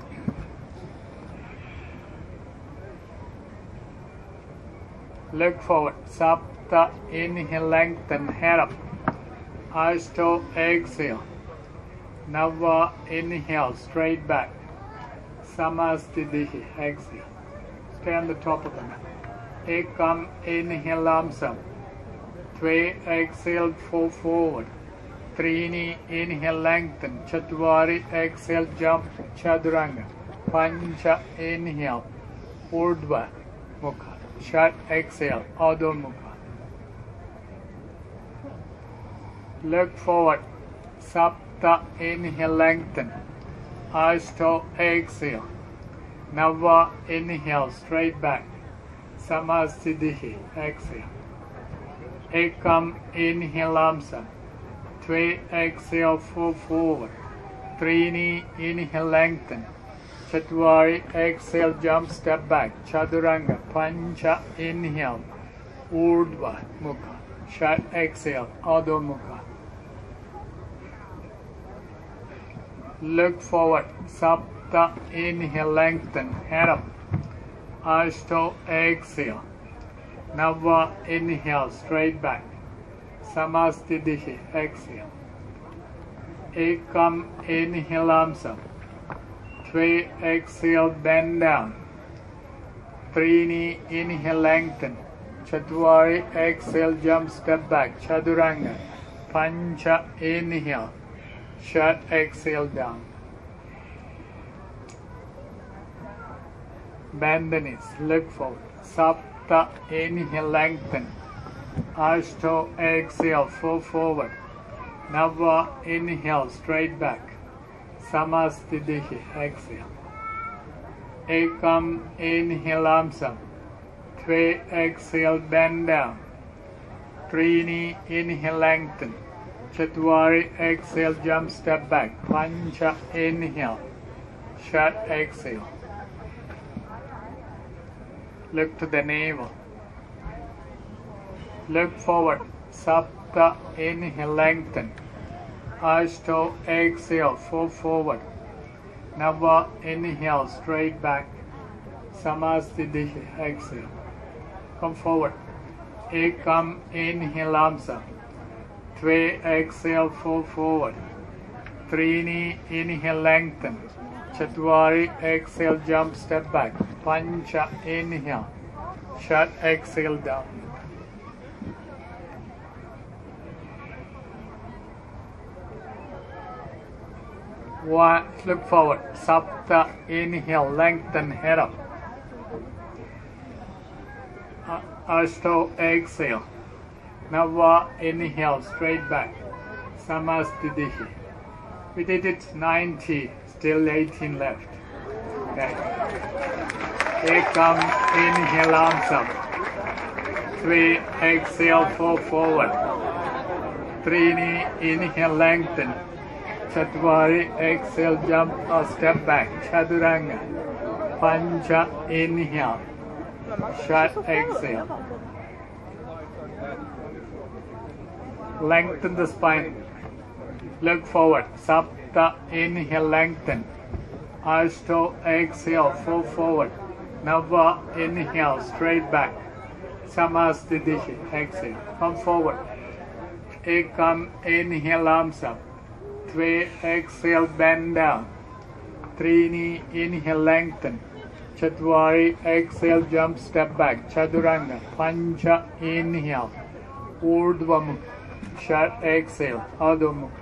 Look forward, Sapta, inhale, lengthen, head up, Ashto, exhale, Nava, inhale, straight back, Samasthitihi, exhale, stay on the top of the mat, Ekam, inhale, arms up, Tve, exhale, fall forward, Trini, inhale, lengthen, Chatwari, exhale, jump, Chaturanga, Pancha, inhale, Urdhva Mukha, Shat, exhale, Adho Mukha. Look forward, Sapta, inhale, lengthen, Ashto, exhale, Nava, inhale, straight back, Samasthitihi, exhale, Ekam, inhale, arms up, Tve, exhale, fall forward, Trini, inhale, lengthen, Chatwari, exhale, jump, step back, Chaturanga, Pancha, inhale, Urdhva Mukha, Shat, exhale, Adho Mukha. Look forward, Sapta, inhale, lengthen, head up, Ashto, exhale, Nava, inhale, straight back, Samasthitihi, exhale, Ekam, inhale, arms up, Tve, exhale, bend down, Trini, inhale, lengthen, Chatwari, exhale, jump, step back, Chaturanga, Pancha, inhale, Shat, exhale, down. Bend the knees, look forward, Sapta, inhale, lengthen, Ashto, exhale, fall forward, Nava, inhale, straight back, Samasthitihi, exhale, Ekam, inhale, arms up, Tve, exhale, bend down, Trini, inhale, lengthen, Chatwari, exhale, jump, step back, Pancha, inhale, Shat, exhale. Look to the navel. Look forward, Sapta, inhale, lengthen, Ashto, exhale, fall forward, Nava, inhale, straight back, Samasthitihi, exhale, come forward, Ekam, inhale, arms up, Tve, exhale, fall forward, Trini, inhale, lengthen, Chatwari, exhale, jump, step back, Pancha, inhale, Shat, exhale, down. One, look forward, Sapta, inhale, lengthen, head up, Ashto, exhale, Nava, inhale, straight back, Samasthitihi. We did it ninety, still eighteen left. Okay. Ekam, inhale, arms up, Tve, exhale, fall forward, Trini, inhale, lengthen, Chatwari, exhale, jump or step back, Chaturanga, Pancha, inhale, Shat, exhale. Lengthen the spine, look forward, Sapta, inhale, lengthen, Ashto, exhale, fall forward, Nava, inhale, straight back, Samasthitihi, exhale, come forward, Ekam, inhale, arms up, Tve, exhale, bend down, Trini, inhale, lengthen, Chatwari, exhale, jump, step back, Chaturanga, Pancha, inhale, Urdhva Mukha, Shat, exhale, Adho Mukha.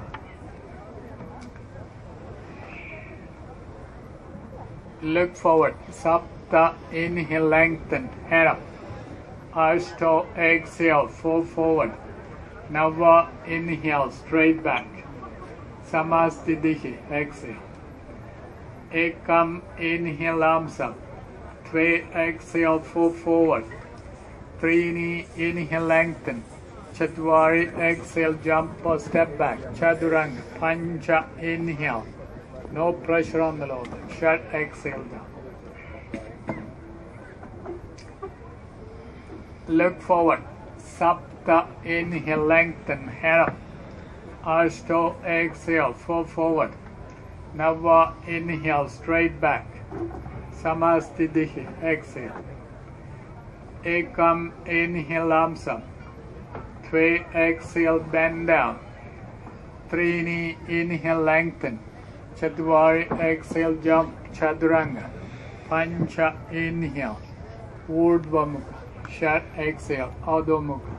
Look forward, Sapta, Sapta, inhale, lengthen, head up. Ashto, exhale, fall forward. Nava, inhale, straight back. Samastitihi, exhale. Ekam, inhale, arms up. Tve, exhale, fall forward. Trini, inhale, lengthen. Chatwari, exhale, jump or step back. Chaduranga, Pancha, inhale. No pressure on the lower back. Shut, exhale down. Look forward. Sapta, inhale, lengthen, head up. Ashto, exhale, fall forward. Nava, inhale, straight back. Samastitihi, exhale. Ekam, inhale, arms up. Tve, exhale, bend down. Trini, inhale, lengthen. Chatwari, exhale, jump, Chaduranga. Pancha, inhale. Urdhva Mukha. Shat, exhale, Adho Mukha.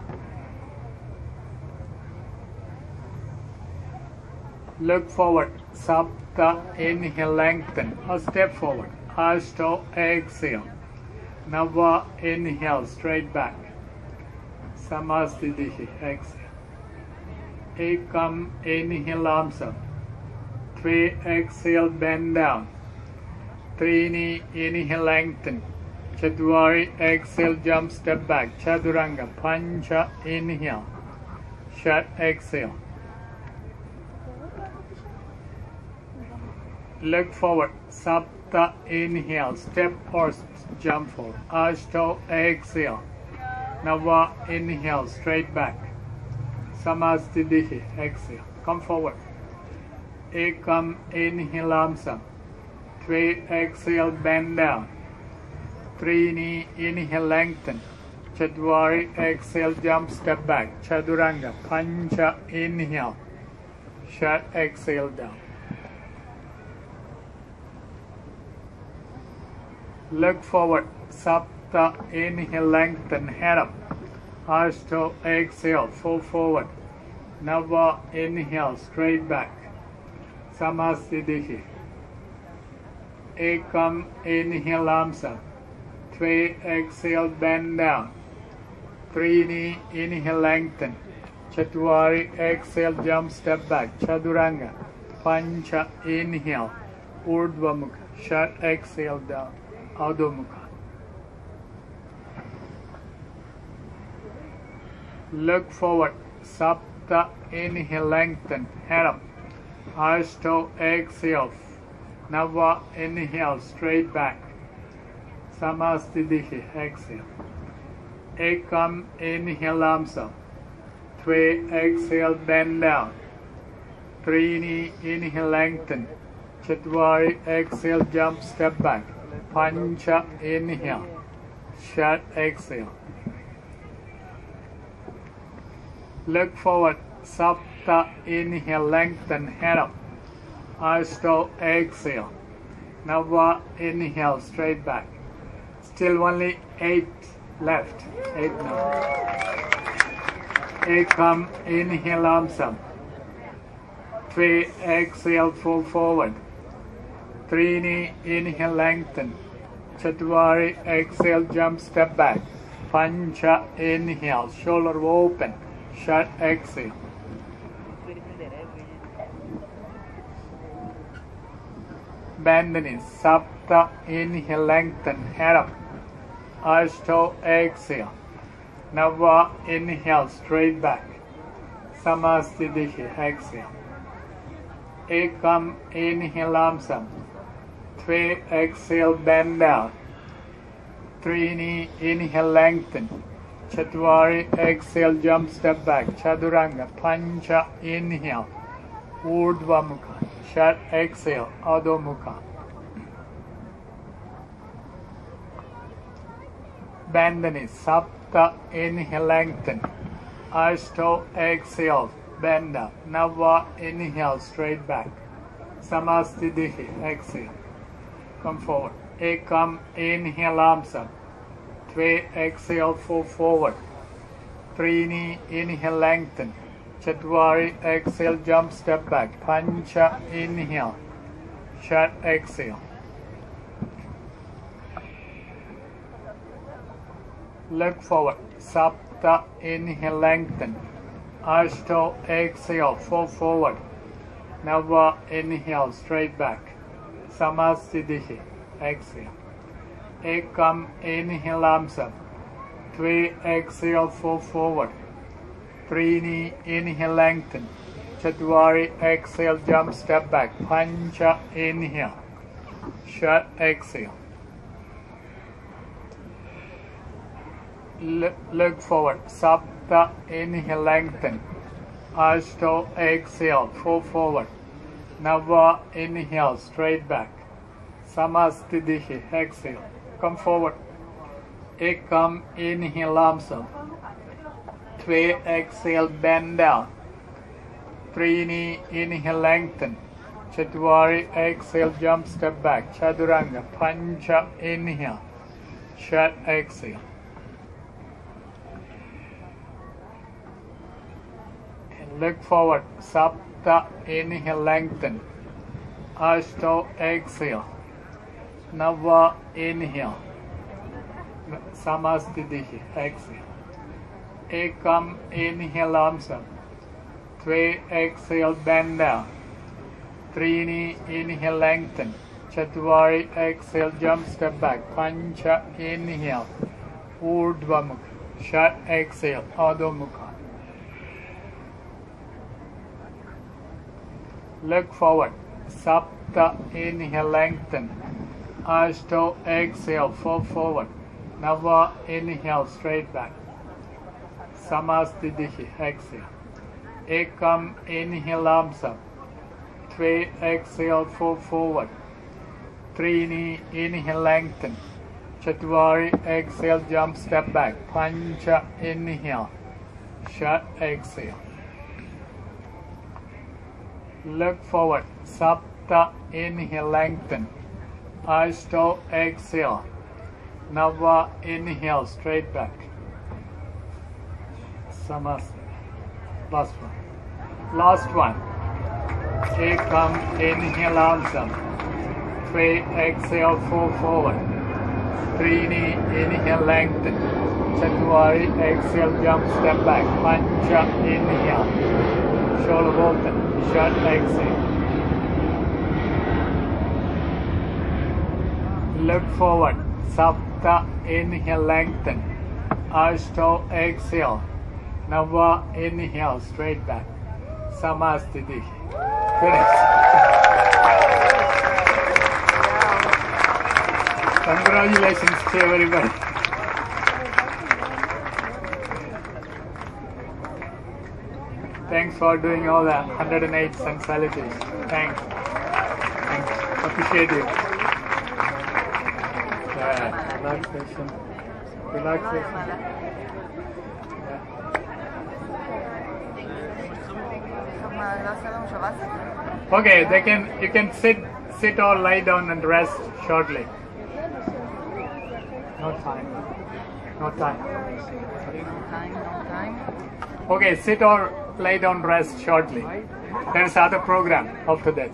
Look forward. Sapta, inhale, lengthen. Or step forward. Ashto, exhale. Nava, inhale, straight back. Samastitihi, exhale. Ekam, inhale, arms up. Three, exhale, bend down. Trini, inhale, lengthen. Chatwari, exhale, jump, step back. Chaduranga, Pancha, inhale. Shat, exhale. Look forward. Sapta, inhale, step or jump forward. Ashto, exhale. Nava, inhale, straight back. Samastitihi, exhale. Come forward. Ekam, inhale, arms up. Tve, exhale, bend down. Trini, inhale, lengthen. Chatwari, exhale, jump, step back. Chaduranga, Pancha, inhale. Shat, exhale down. Look forward. Sapta, inhale, lengthen, head up. Ashto, exhale, fall forward. Nava, inhale, straight back. Samastitihi. Ekam, inhale, arms up. Tve, exhale, bend down. Trini, inhale, lengthen. Chatwari, exhale, jump, step back. Chaduranga. Pancha, inhale. Urdhva Mukha. Shat, exhale down. Adho Mukha. Look forward. Sapta, inhale, lengthen, head up. Ashto, exhale. Nava, inhale, straight back. Samastitihi, exhale. Ekam, inhale, arms up. Tve, exhale, bend down. Trini, inhale, lengthen. Chatwari, exhale, jump, step back. Pancha, inhale. Shat, exhale. Look forward. Sapta, inhale, lengthen, head up. Ashto, exhale. Nava, inhale, straight back. Still only eight left. Eight now. Ekam, inhale, arms up. Three, exhale, fall forward. Trini, inhale, lengthen. Chatwari, exhale, jump, step back. Pancha, inhale, shoulder open. Shat, exhale. Bend the knees. Sapta, inhale, lengthen, head up. Ashto, exhale. Nava, inhale, straight back. Samastitihi, exhale. Ekam, inhale, arms up. Tve, exhale, bend down. Trini, inhale, lengthen. Chatwari, exhale, jump, step back. Chaduranga, Pancha, inhale. Urdhva Mukha. Shat, exhale, Adho Mukha. Bend the knees. Sapta, inhale, lengthen. Ashto, exhale, bend up. Nava, inhale, straight back. Samastitihi, exhale. Come forward. Ekam, inhale, arms up. Tve, exhale, fall forward. Trini, inhale, lengthen. Chatwari, exhale, jump, step back. Pancha, inhale. Shat, exhale. Look forward. Sapta, inhale, lengthen. Ashto, exhale, fall forward. Nava, inhale, straight back. Samasthiti, exhale. Ekam, inhale, arms up. Three, exhale, fall forward. Trini, inhale, lengthen. Chatwari, exhale, jump, step back. Pancha, inhale. Shut, exhale. L look forward. Sapta, inhale, lengthen. Ashto, exhale, fall forward. Nava, inhale, straight back. Samasthiti, exhale. Come forward. Ekam, inhale, arms up. Three, exhale, bend down. Trini, inhale, lengthen. Chatwari, exhale, jump, step back. Chaturanga, Pancha, inhale. Shut, exhale. And look forward. Sapta, inhale, lengthen. Ashto, exhale. Nava, inhale. Samasthiti, exhale. Ekam, inhale, arms up. Three, exhale, bend down. Trini, inhale, lengthen. Chatwari, exhale, jump, step back. Pancha, inhale. Urdhva Mukha. Shut, exhale. Adho Mukha. Look forward. Sapta, inhale, lengthen. Ashto, exhale, fall forward. Nava, inhale, straight back. Samasthiti, exhale. Ekam, inhale, arms up. Three, exhale, fall forward. Trini, inhale, lengthen. Chatwari, exhale, jump, step back. Pancha, inhale. Shut, exhale. Look forward. Sapta, inhale, lengthen. Ashto, exhale. Nava, inhale, straight back. Samasthiti. Last one. Last one. Ekam, inhale, arms up. Three, exhale, fall forward. Trini, inhale, lengthen. Chatwari, exhale, jump, step back. Pancha, inhale. Shoulder open. Shut, exhale. Look forward. Sapta, inhale, lengthen. Ashto, exhale. Nava, inhale, straight back. Samasthiti. Finish. Congratulations to everybody. Thanks for doing all the one hundred eight sensualities. Thanks. Thanks. Appreciate you. Yeah, relaxation. Relaxation. Okay, they can. You can sit, sit or lie down and rest shortly. No time. No time.
No time, no time.
Okay, sit or lie down, rest shortly. There is other program after this.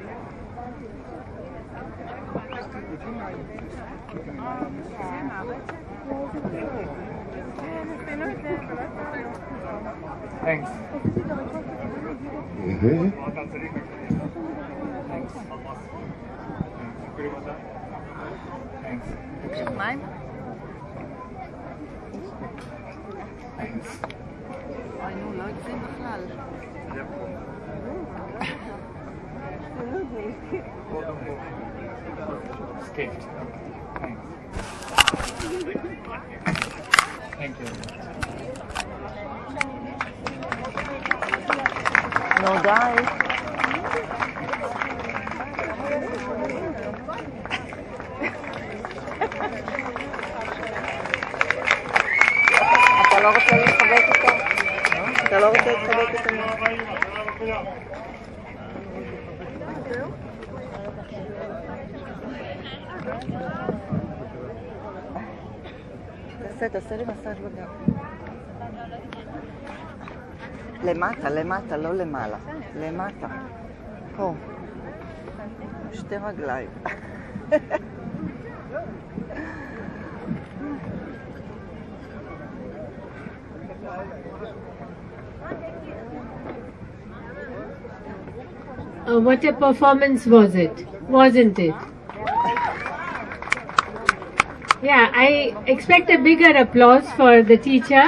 Thanks. Thanks. Thanks.
Mine?
Thanks.
אוי, נו, לא הגזים בכלל.
Skipped. Thanks. Thank you.
נו, די. אתה לא רוצה להתחבק איתו? אתה לא רוצה להתחבק איתו? תעשה, תעשה לי מסאז' בגב. למטה, למטה, לא למעלה. למטה. פה. שתי רגליים.
uh, what a performance was it, wasn't it? Yeah, I expect a bigger applause for the teacher.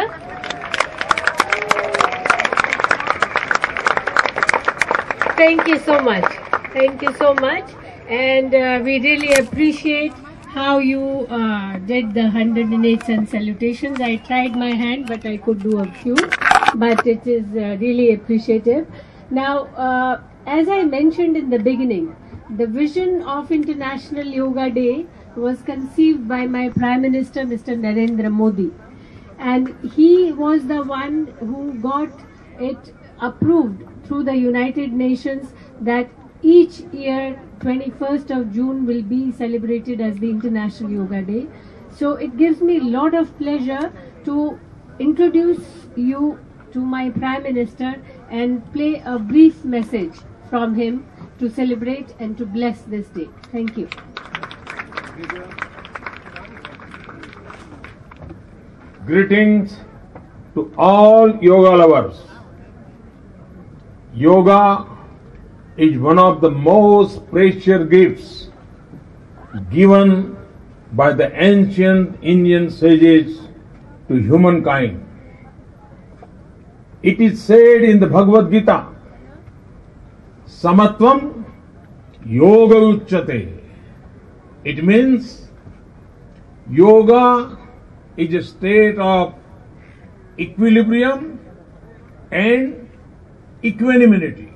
Thank you so much. Thank you so much. And uh, we really appreciate how you uh, did the one hundred eight sun salutations. I tried my hand, but I could do a few. But it is uh, really appreciative. Now, uh, as I mentioned in the beginning, the vision of International Yoga Day was conceived by my Prime Minister, Mister Narendra Modi. And he was the one who got it approved through the United Nations that each year twenty-first of June will be celebrated as the International Yoga Day. So it gives me a lot of pleasure to introduce you to my Prime Minister and play a brief message from him to celebrate and to bless this day. Thank you.
Greetings to all yoga lovers. Yoga is one of the most precious gifts given by the ancient Indian sages to humankind. It is said in the Bhagavad Gita, Samatvam Yoga Uchyate. It means yoga is a state of equilibrium and equanimity.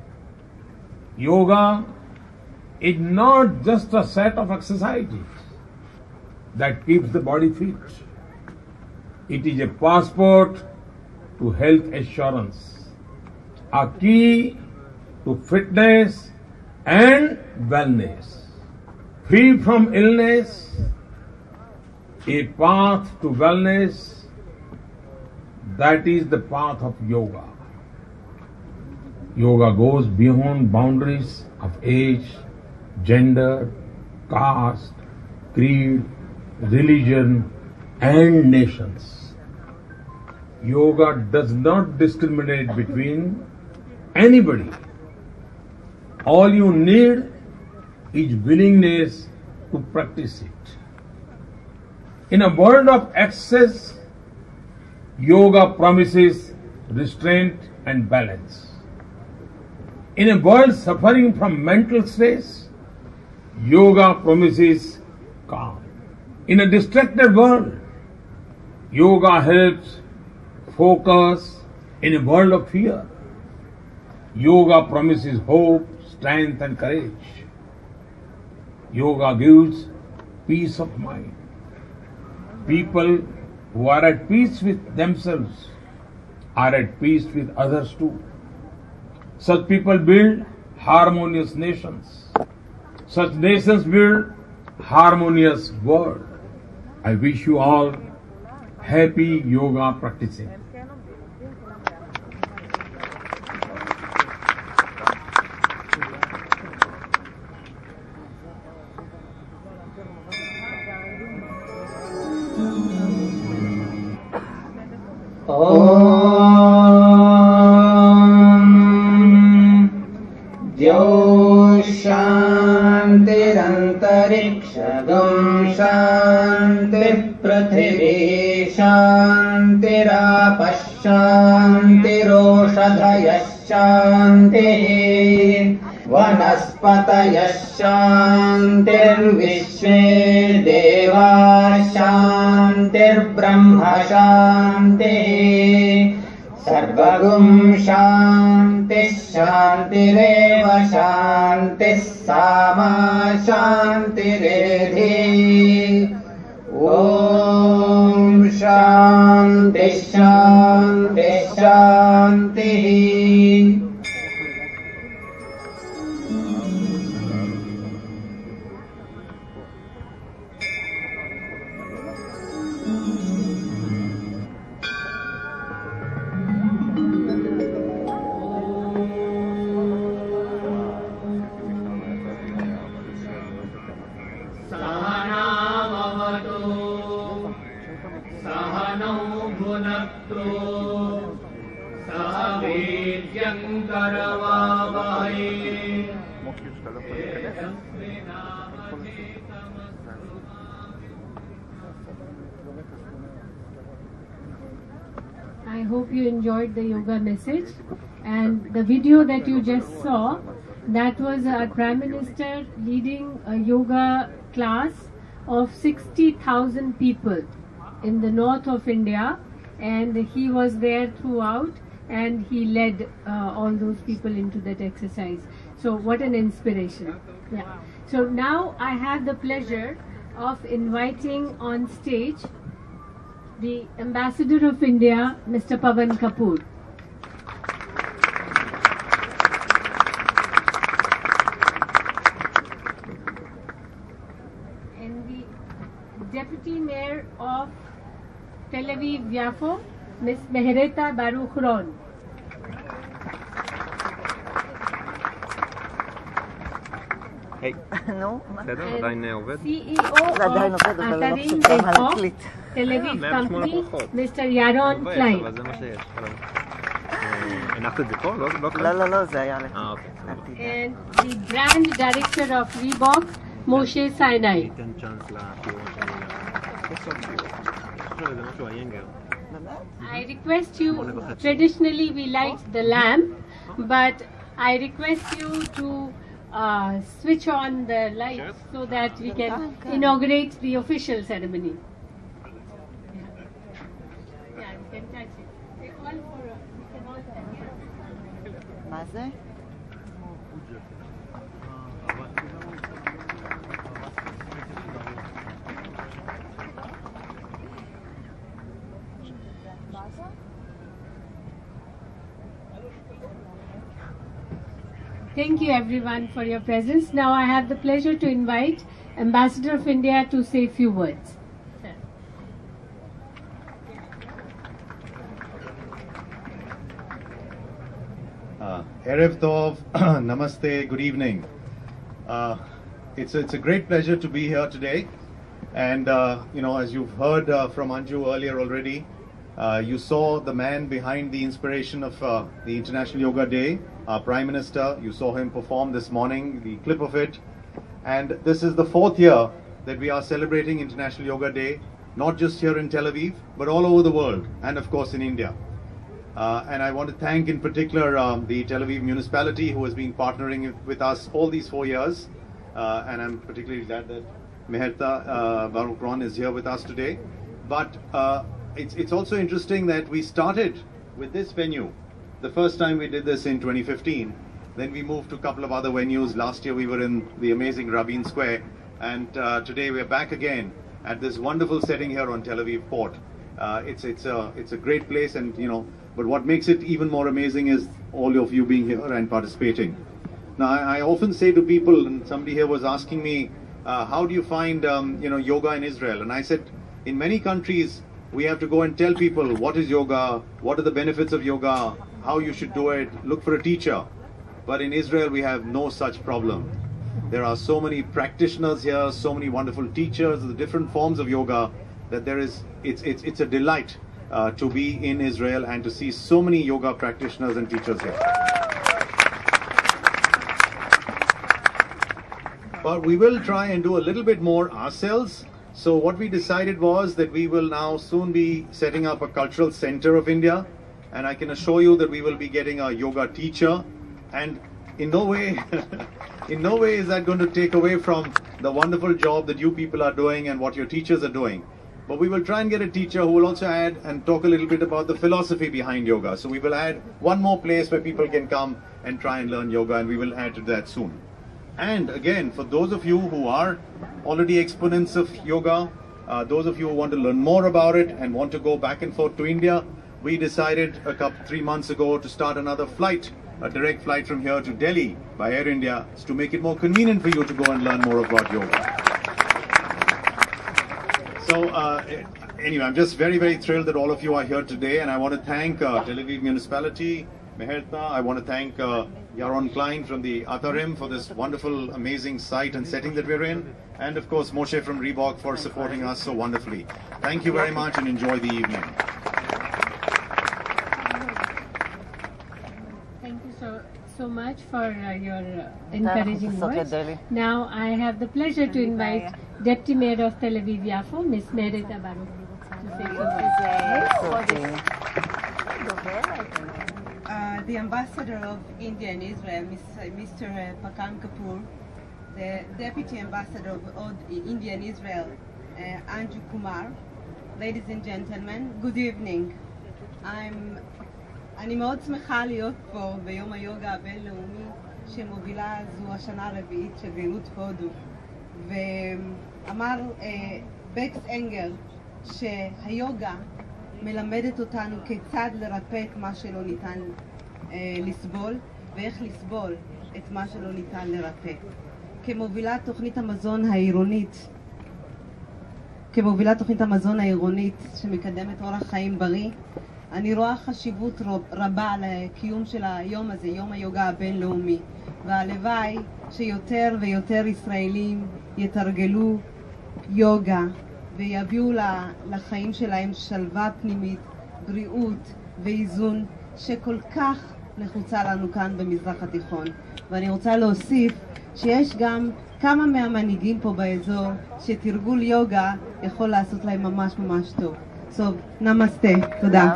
Yoga is not just a set of exercises that keeps the body fit. It is a passport to health assurance, a key to fitness and wellness, free from illness, a path to wellness. That is the path of yoga. Yoga goes beyond boundaries of age, gender, caste, creed, religion, and nations. Yoga does not discriminate between anybody. All you need is willingness to practice it. In a world of excess, yoga promises restraint and balance. In a world suffering from mental stress, yoga promises calm. In a distracted world, yoga helps focus. In a world of fear, yoga promises hope, strength and courage. Yoga gives peace of mind. People who are at peace with themselves are at peace with others too. Such people build harmonious nations. Such nations build harmonious world. I wish you all happy yoga practicing.
शान्तिरन्तरिक्षगं शान्तिः पृथिवी शान्तिरापः शान्तिरोषधयः शान्तिः वनस्पतयः शान्तिर्विश्वे देवाः शान्तिर्ब्रह्म शान्तिः सर्वगुं शान्तिः शान्तिरेव शान्तिः सामा शान्तिरेधि ॐ शान्तिः शान्तिः शान्तिः। सह वीर्यं करवावहै
שאתה לא יכול להיכנס.
I hope you enjoyed the yoga message, and the video that you just saw, that was our Prime Minister leading a yoga class of sixty thousand people in the north of India, and he was there throughout, and he led uh, all those people into that exercise. So what an inspiration. Yeah. So now I have the pleasure of inviting on stage the Ambassador of India, Mister Pavan Kapoor. And the Deputy Mayor of Tel Aviv-Yafo, Miss Mehereta Baruch-Ron.
היי. נו, מה? בסדר, עדיין עובד?
C E O
זה עדיין עובד, אבל לא
אתרים
פשוט אין מה
דקו,
להקליט.
תל אביב
מאה ושמונה
קמפני,
ברכות.
מיסטר ירון
מבאס,
קליין.
אבל זה מה שיש. הנחת את זה פה? לא, לא, לא, זה היה לך. אה, אוקיי.
And the brand director of Reebok, Moshe Sinai.
ניתן צ'אנס לשיעור שלי. סוף שיעור. זה משהו היינגר.
I request you, traditionally we light the lamp, but I request you to uh, switch on the lights so that we can inaugurate the official ceremony. Yeah, yeah, you can touch it. They call for, uh, we can all stand here.
מה זה?
Thank you everyone for your presence. Now I have the pleasure to invite Ambassador of India to say a few words. Sir.
Uh, Erev Tov, Namaste, good evening. Uh, it's, it's a great pleasure to be here today. And, uh, you know, as you've heard uh, from Anju earlier already, uh, you saw the man behind the inspiration of uh, the International Yoga Day, our Prime Minister. You saw him perform this morning, the clip of it. And this is the fourth year that we are celebrating International Yoga Day, not just here in Tel Aviv, but all over the world, and of course in India. Uh, and I want to thank in particular um, the Tel Aviv municipality who has been partnering with us all these four years. Uh, and I'm particularly glad that Meherta uh, Baruch-Ron is here with us today. But uh, it's, it's also interesting that we started with this venue. The first time we did this in twenty fifteen. Then we moved to a couple of other venues. Last year we were in the amazing Rabin Square. And uh, today we're back again at this wonderful setting here on Tel Aviv Port. Uh, it's, it's, a, it's a great place, and you know, but what makes it even more amazing is all of you being here and participating. Now, I, I often say to people, and somebody here was asking me, uh, how do you find um, you know, yoga in Israel? And I said, in many countries, we have to go and tell people what is yoga, what are the benefits of yoga, how you should do it, look for a teacher. But in Israel, we have no such problem. There are so many practitioners here, so many wonderful teachers of the different forms of yoga, that there is, it's, it's, it's a delight uh, to be in Israel and to see so many yoga practitioners and teachers here. But we will try and do a little bit more ourselves. So what we decided was that we will now soon be setting up a cultural center of India. And I can assure you that we will be getting a yoga teacher. And in no way, in no way is that going to take away from the wonderful job that you people are doing and what your teachers are doing. But we will try and get a teacher who will also add and talk a little bit about the philosophy behind yoga. So we will add one more place where people can come and try and learn yoga, and we will add to that soon. And again, for those of you who are already exponents of yoga, uh, those of you who want to learn more about it and want to go back and forth to India, we decided a couple, three months ago to start another flight, a direct flight from here to Delhi by Air India, to make it more convenient for you to go and learn more about yoga. So uh, anyway, I'm just very, very thrilled that all of you are here today, and I want to thank uh, Tel Aviv Municipality, Meherta. I want to thank uh, Yaron Klein from the Atarim for this wonderful, amazing site and setting that we're in, and of course Moshe from Reebok for supporting us so wonderfully. Thank you very much and enjoy the evening.
Thank you so so much for uh, your uh, encouraging words. Now I have the pleasure to invite Deputy Mayor of Tel Aviv Yafo, Miss Merita Baruch, to say a few words.
Uh, the ambassador of India in Israel, Mister Pakam Kapoor, the deputy ambassador of India in Israel, uh, Anju Kumar, ladies and gentlemen, good evening. I'm אני מאוד שמחה להיות פה ביום היוגה הבינלאומי שמובילה זו השנה הרביעית שגרירות הודו. ואמר אה, בקס אנגר שהיוגה מלמדת אותנו כיצד לרפא את מה שלא ניתן אה, לסבול ואיך לסבול את מה שלא ניתן לרפא. כמובילת תוכנית המזון העירונית, כמובילת תוכנית המזון העירונית שמקדמת אורח חיים בריא, אני רואה חשיבות רבה לקיום של היום הזה, יום היוגה הבינלאומי, והלוואי שיותר ויותר ישראלים יתרגלו יוגה ויביאו לחיים שלהם שלווה פנימית, בריאות ואיזון שכל כך נחוצה לנו כאן במזרח התיכון. ואני רוצה להוסיף שיש גם כמה מהמנהיגים פה באזור שתרגול יוגה יכול לעשות להם ממש ממש טוב. So, נמסטה, תודה.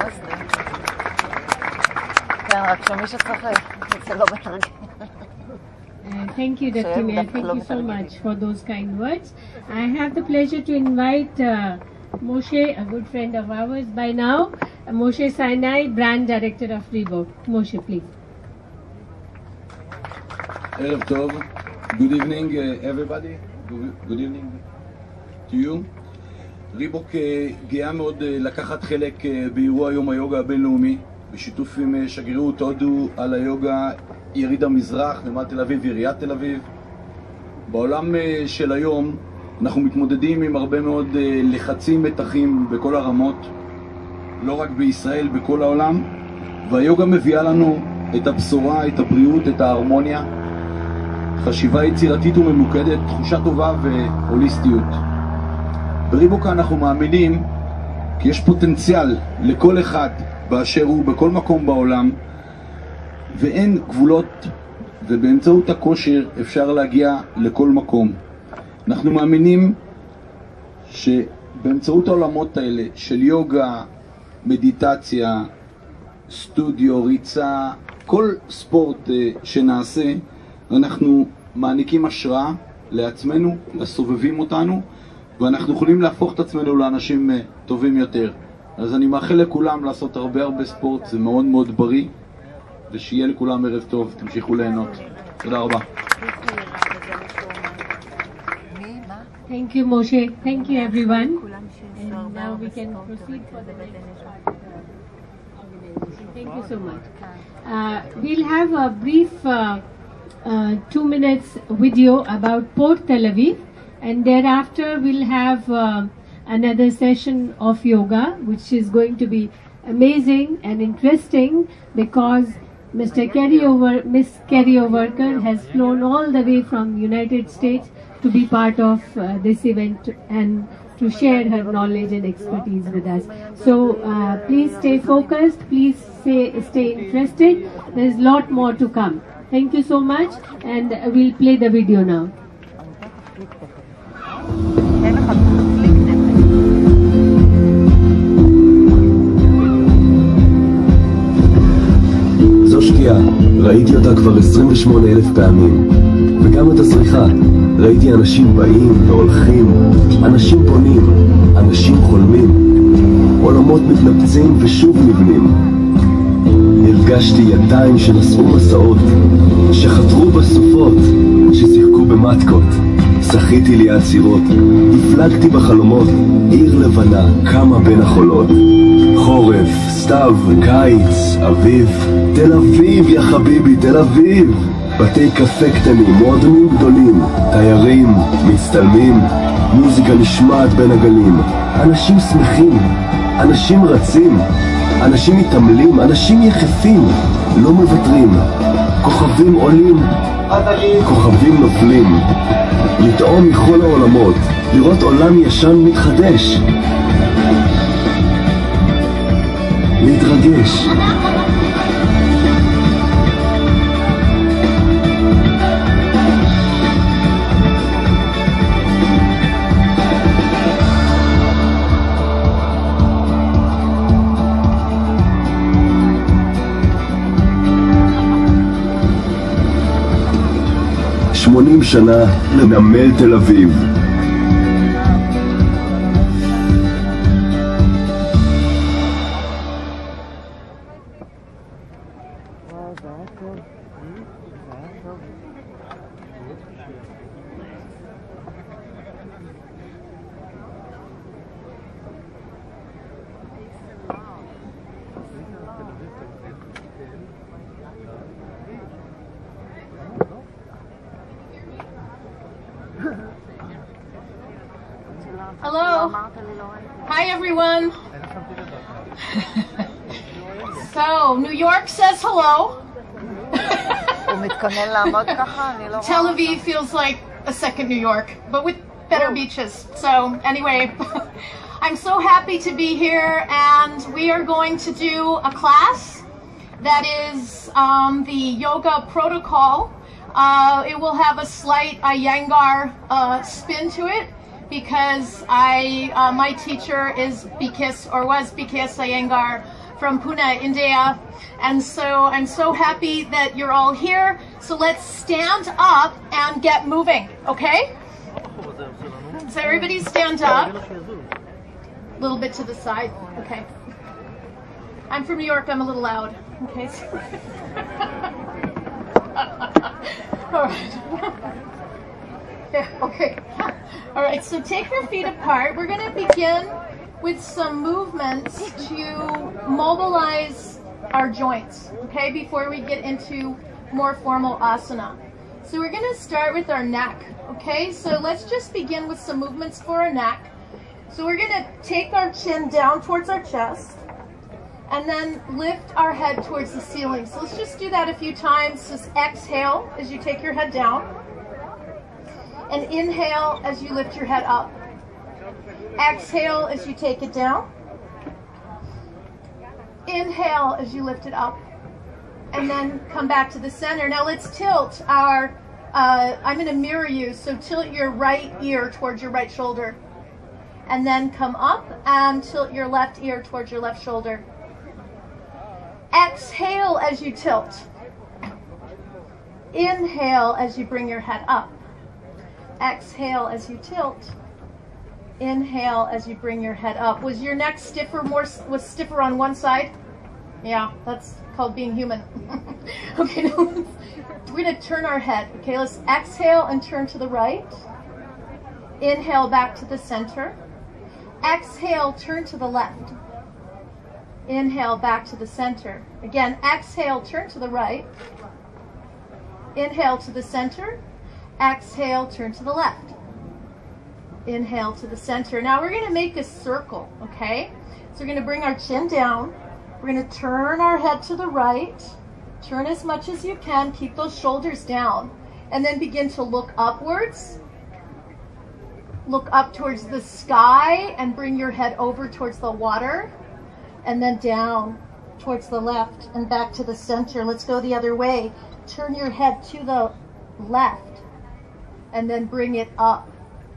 כן, רק שמי שצריך, זה לא מתרגל.
Thank you, Doctor Mayor. Thank you so much for those kind words. I have the pleasure to invite uh, Moshe, a good friend of ours by now, uh, Moshe Sinai, Brand Director of Reebok. Moshe, please.
Erev Tov. Good evening, uh, everybody. Good, good evening to you. ריבוק גאה מאוד לקחת חלק באירוע יום היוגה הבינלאומי בשיתוף עם שגרירות הודו על היוגה יריד המזרח, נמל תל אביב ועיריית תל אביב. בעולם של היום אנחנו מתמודדים עם הרבה מאוד לחצים מתחים בכל הרמות, לא רק בישראל, בכל העולם, והיוגה מביאה לנו את הבשורה, את הבריאות, את ההרמוניה, חשיבה יצירתית וממוקדת, תחושה טובה והוליסטיות. בריבוקה אנחנו מאמינים כי יש פוטנציאל לכל אחד באשר הוא בכל מקום בעולם ואין גבולות, ובאמצעות הכושר אפשר להגיע לכל מקום. אנחנו מאמינים שבאמצעות העולמות האלה של יוגה, מדיטציה, סטודיו, ריצה, כל ספורט שנעשה, אנחנו מעניקים השראה לעצמנו, לסובבים אותנו, ואנחנו יכולים להפוך את עצמנו לאנשים טובים יותר. אז אני מאחל לכולם לעשות הרבה הרבה ספורט, זה מאוד מאוד בריא, ושיהיה לכולם ערב טוב, תמשיכו ליהנות. תודה רבה.
Thank you, Moshe. Thank you, everyone. And now we can proceed for the next part of the organization. Thank you so much. Uh, we'll have a brief uh, uh, two minutes video about Port Tel Aviv. And thereafter we'll have uh, another session of yoga, which is going to be amazing and interesting because Mister Kerry Over, Miss Kerry Overker has flown all the way from United States to be part of uh, this event and to share her knowledge and expertise with us. So uh, please stay focused, please stay, stay interested. There's a lot more to come. Thank you so much, and we'll play the video now.
זו שקיעה, ראיתי אותה כבר עשרים ושמונה אלף פעמים, וגם את הזריחה. ראיתי אנשים באים והולכים, אנשים פונים, אנשים חולמים, עולמות מתנפצים ושוב נבנים. הרגשתי ידיים שנשאו מסעות, שחתרו בסופות, ששיחקו במתקות. שחיתי ליד סירות, הפלגתי בחלומות, עיר לבנה קמה בין החולות. חורף, סתיו, קיץ, אביב, תל אביב יא חביבי, תל אביב. בתי קפה קטנים, מועדונים גדולים, תיירים, מצטלמים, מוזיקה נשמעת בין הגלים. אנשים שמחים, אנשים רצים, אנשים מתעמלים, אנשים יחפים, לא מוותרים. כוכבים עולים, כוכבים נופלים. לטעום מכל העולמות, לראות עולם ישן מתחדש. להתרגש. שמונים שנה לנמל תל אביב.
Hello. Hi, everyone. So, New York says hello. Tel Aviv feels like a second New York, but with better beaches. So, anyway, I'm so happy to be here, and we are going to do a class that is um, the yoga protocol. Uh, it will have a slight Iyengar uh, spin to it, because I, uh, my teacher is Bikis, or was Bikis Iyengar from Pune, India. And so I'm so happy that you're all here. So let's stand up and get moving, okay? So everybody stand up. A little bit to the side, okay. I'm from New York, I'm a little loud, okay? All right. Yeah, okay. All right, so take your feet apart. We're going to begin with some movements to mobilize our joints, okay, before we get into more formal asana. So we're going to start with our neck, okay? So let's just begin with some movements for our neck. So we're going to take our chin down towards our chest and then lift our head towards the ceiling. So let's just do that a few times. Just exhale as you take your head down. And inhale as you lift your head up. Exhale as you take it down. Inhale as you lift it up. And then come back to the center. Now let's tilt our, uh, I'm going to mirror you, so tilt your right ear towards your right shoulder. And then come up and tilt your left ear towards your left shoulder. Exhale as you tilt. Inhale as you bring your head up. Exhale as you tilt. Inhale as you bring your head up. Was your neck stiffer, more was stiffer on one side? Yeah, that's called being human. Okay, now let's, we're going to turn our head. Okay, let's exhale and turn to the right. Inhale back to the center. Exhale, turn to the left. Inhale back to the center. Again, exhale, turn to the right. Inhale to the center. Exhale, turn to the left. Inhale to the center. Now we're going to make a circle, okay? So we're going to bring our chin down. We're going to turn our head to the right. Turn as much as you can. Keep those shoulders down. And then begin to look upwards. Look up towards the sky and bring your head over towards the water. And then down towards the left and back to the center. Let's go the other way. Turn your head to the left. And then bring it up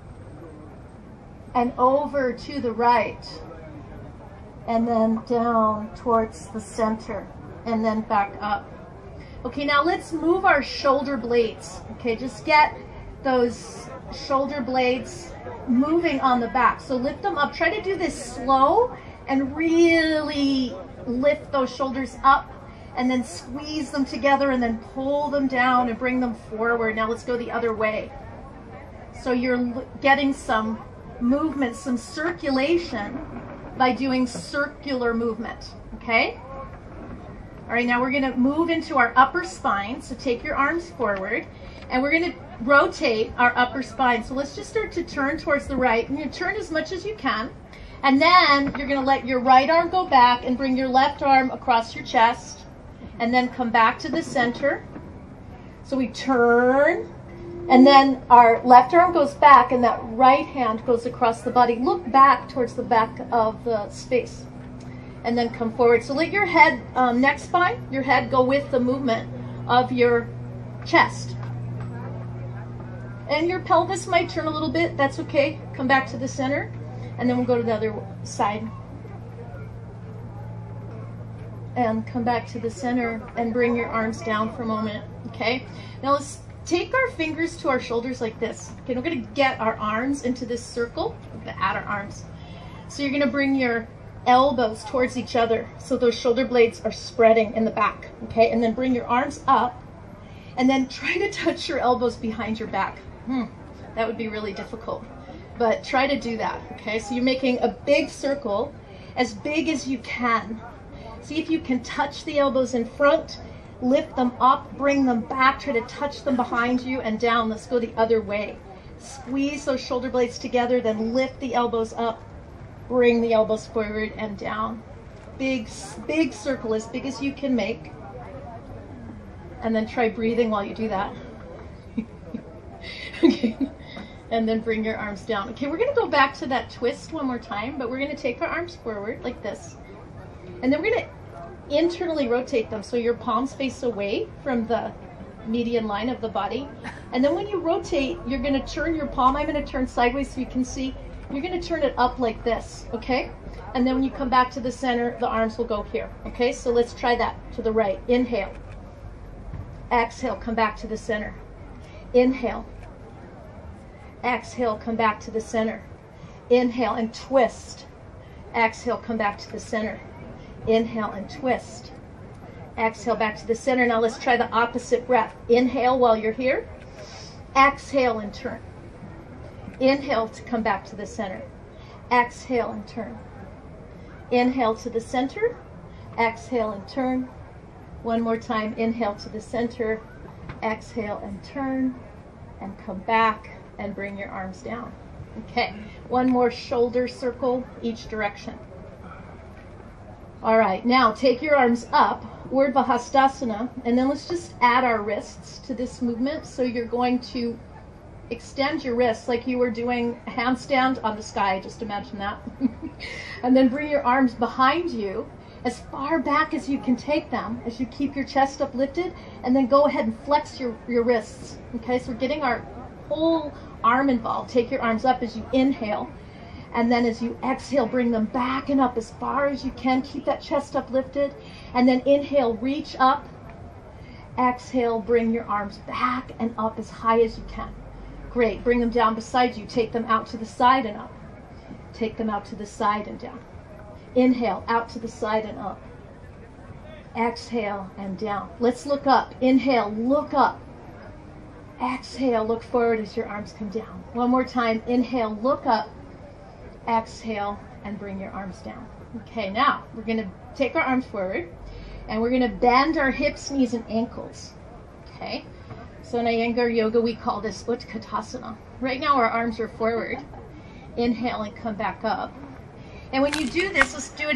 and over to the right, and then down towards the center, and then back up. Okay, now let's move our shoulder blades. Okay, just get those shoulder blades moving on the back. So lift them up. Try to do this slow and really lift those shoulders up, and then squeeze them together, and then pull them down and bring them forward. Now let's go the other way. So you're getting some movement, some circulation by doing circular movement, okay? All right, now we're gonna move into our upper spine. So take your arms forward, and we're gonna rotate our upper spine. So let's just start to turn towards the right, and you turn as much as you can. And then you're gonna let your right arm go back and bring your left arm across your chest, and then come back to the center. So we turn, and then our left arm goes back, and that right hand goes across the body. Look back towards the back of the space, and then come forward. So let your head, um, neck spine, your head go with the movement of your chest. And your pelvis might turn a little bit, that's okay. Come back to the center, and then we'll go to the other side. And come back to the center and bring your arms down for a moment, okay? Now let's take our fingers to our shoulders like this. Okay, we're gonna get our arms into this circle. We're gonna add our arms. So you're gonna bring your elbows towards each other so those shoulder blades are spreading in the back, okay? And then bring your arms up and then try to touch your elbows behind your back. Hmm, that would be really difficult, but try to do that, okay? So you're making a big circle, as big as you can. See if you can touch the elbows in front, lift them up, bring them back, try to touch them behind you and down. Let's go the other way. Squeeze those shoulder blades together, then lift the elbows up, bring the elbows forward and down. Big, big circle, as big as you can make. And then try breathing while you do that. Okay. And then bring your arms down. Okay, we're gonna go back to that twist one more time, but we're gonna take our arms forward like this. And then we're gonna internally rotate them so your palms face away from the median line of the body. And then when you rotate, you're gonna turn your palm. I'm gonna turn sideways so you can see. You're gonna turn it up like this, okay? And then when you come back to the center, the arms will go here, okay? So let's try that to the right. Inhale. Exhale, come back to the center. Inhale. Exhale, come back to the center. Inhale and twist. Exhale, come back to the center. Inhale and twist. Exhale back to the center. Now let's try the opposite breath. Inhale while you're here. Exhale and turn. Inhale to come back to the center. Exhale and turn. Inhale to the center. Exhale and turn. One more time. Inhale to the center. Exhale and turn. And come back and bring your arms down. Okay. One more shoulder circle each direction. All right, now take your arms up, Urdhva Hastasana, and then let's just add our wrists to this movement. So you're going to extend your wrists like you were doing a handstand on the sky, just imagine that. And then bring your arms behind you as far back as you can take them, as you keep your chest up lifted, and then go ahead and flex your, your wrists. Okay, so we're getting our whole arm involved. Take your arms up as you inhale. And then as you exhale, bring them back and up as far as you can. Keep that chest up lifted. And then inhale, reach up. Exhale, bring your arms back and up as high as you can. Great. Bring them down beside you. Take them out to the side and up. Take them out to the side and down. Inhale, out to the side and up. Exhale and down. Let's look up. Inhale, look up. Exhale, look forward as your arms come down. One more time. Inhale, look up. Exhale and bring your arms down. Okay, now we're going to take our arms forward and we're going to bend our hips, knees, and ankles. Okay, so in Iyengar yoga we call this Utkatasana. Right now our arms are forward. Inhale and come back up. And when you do this, let's do it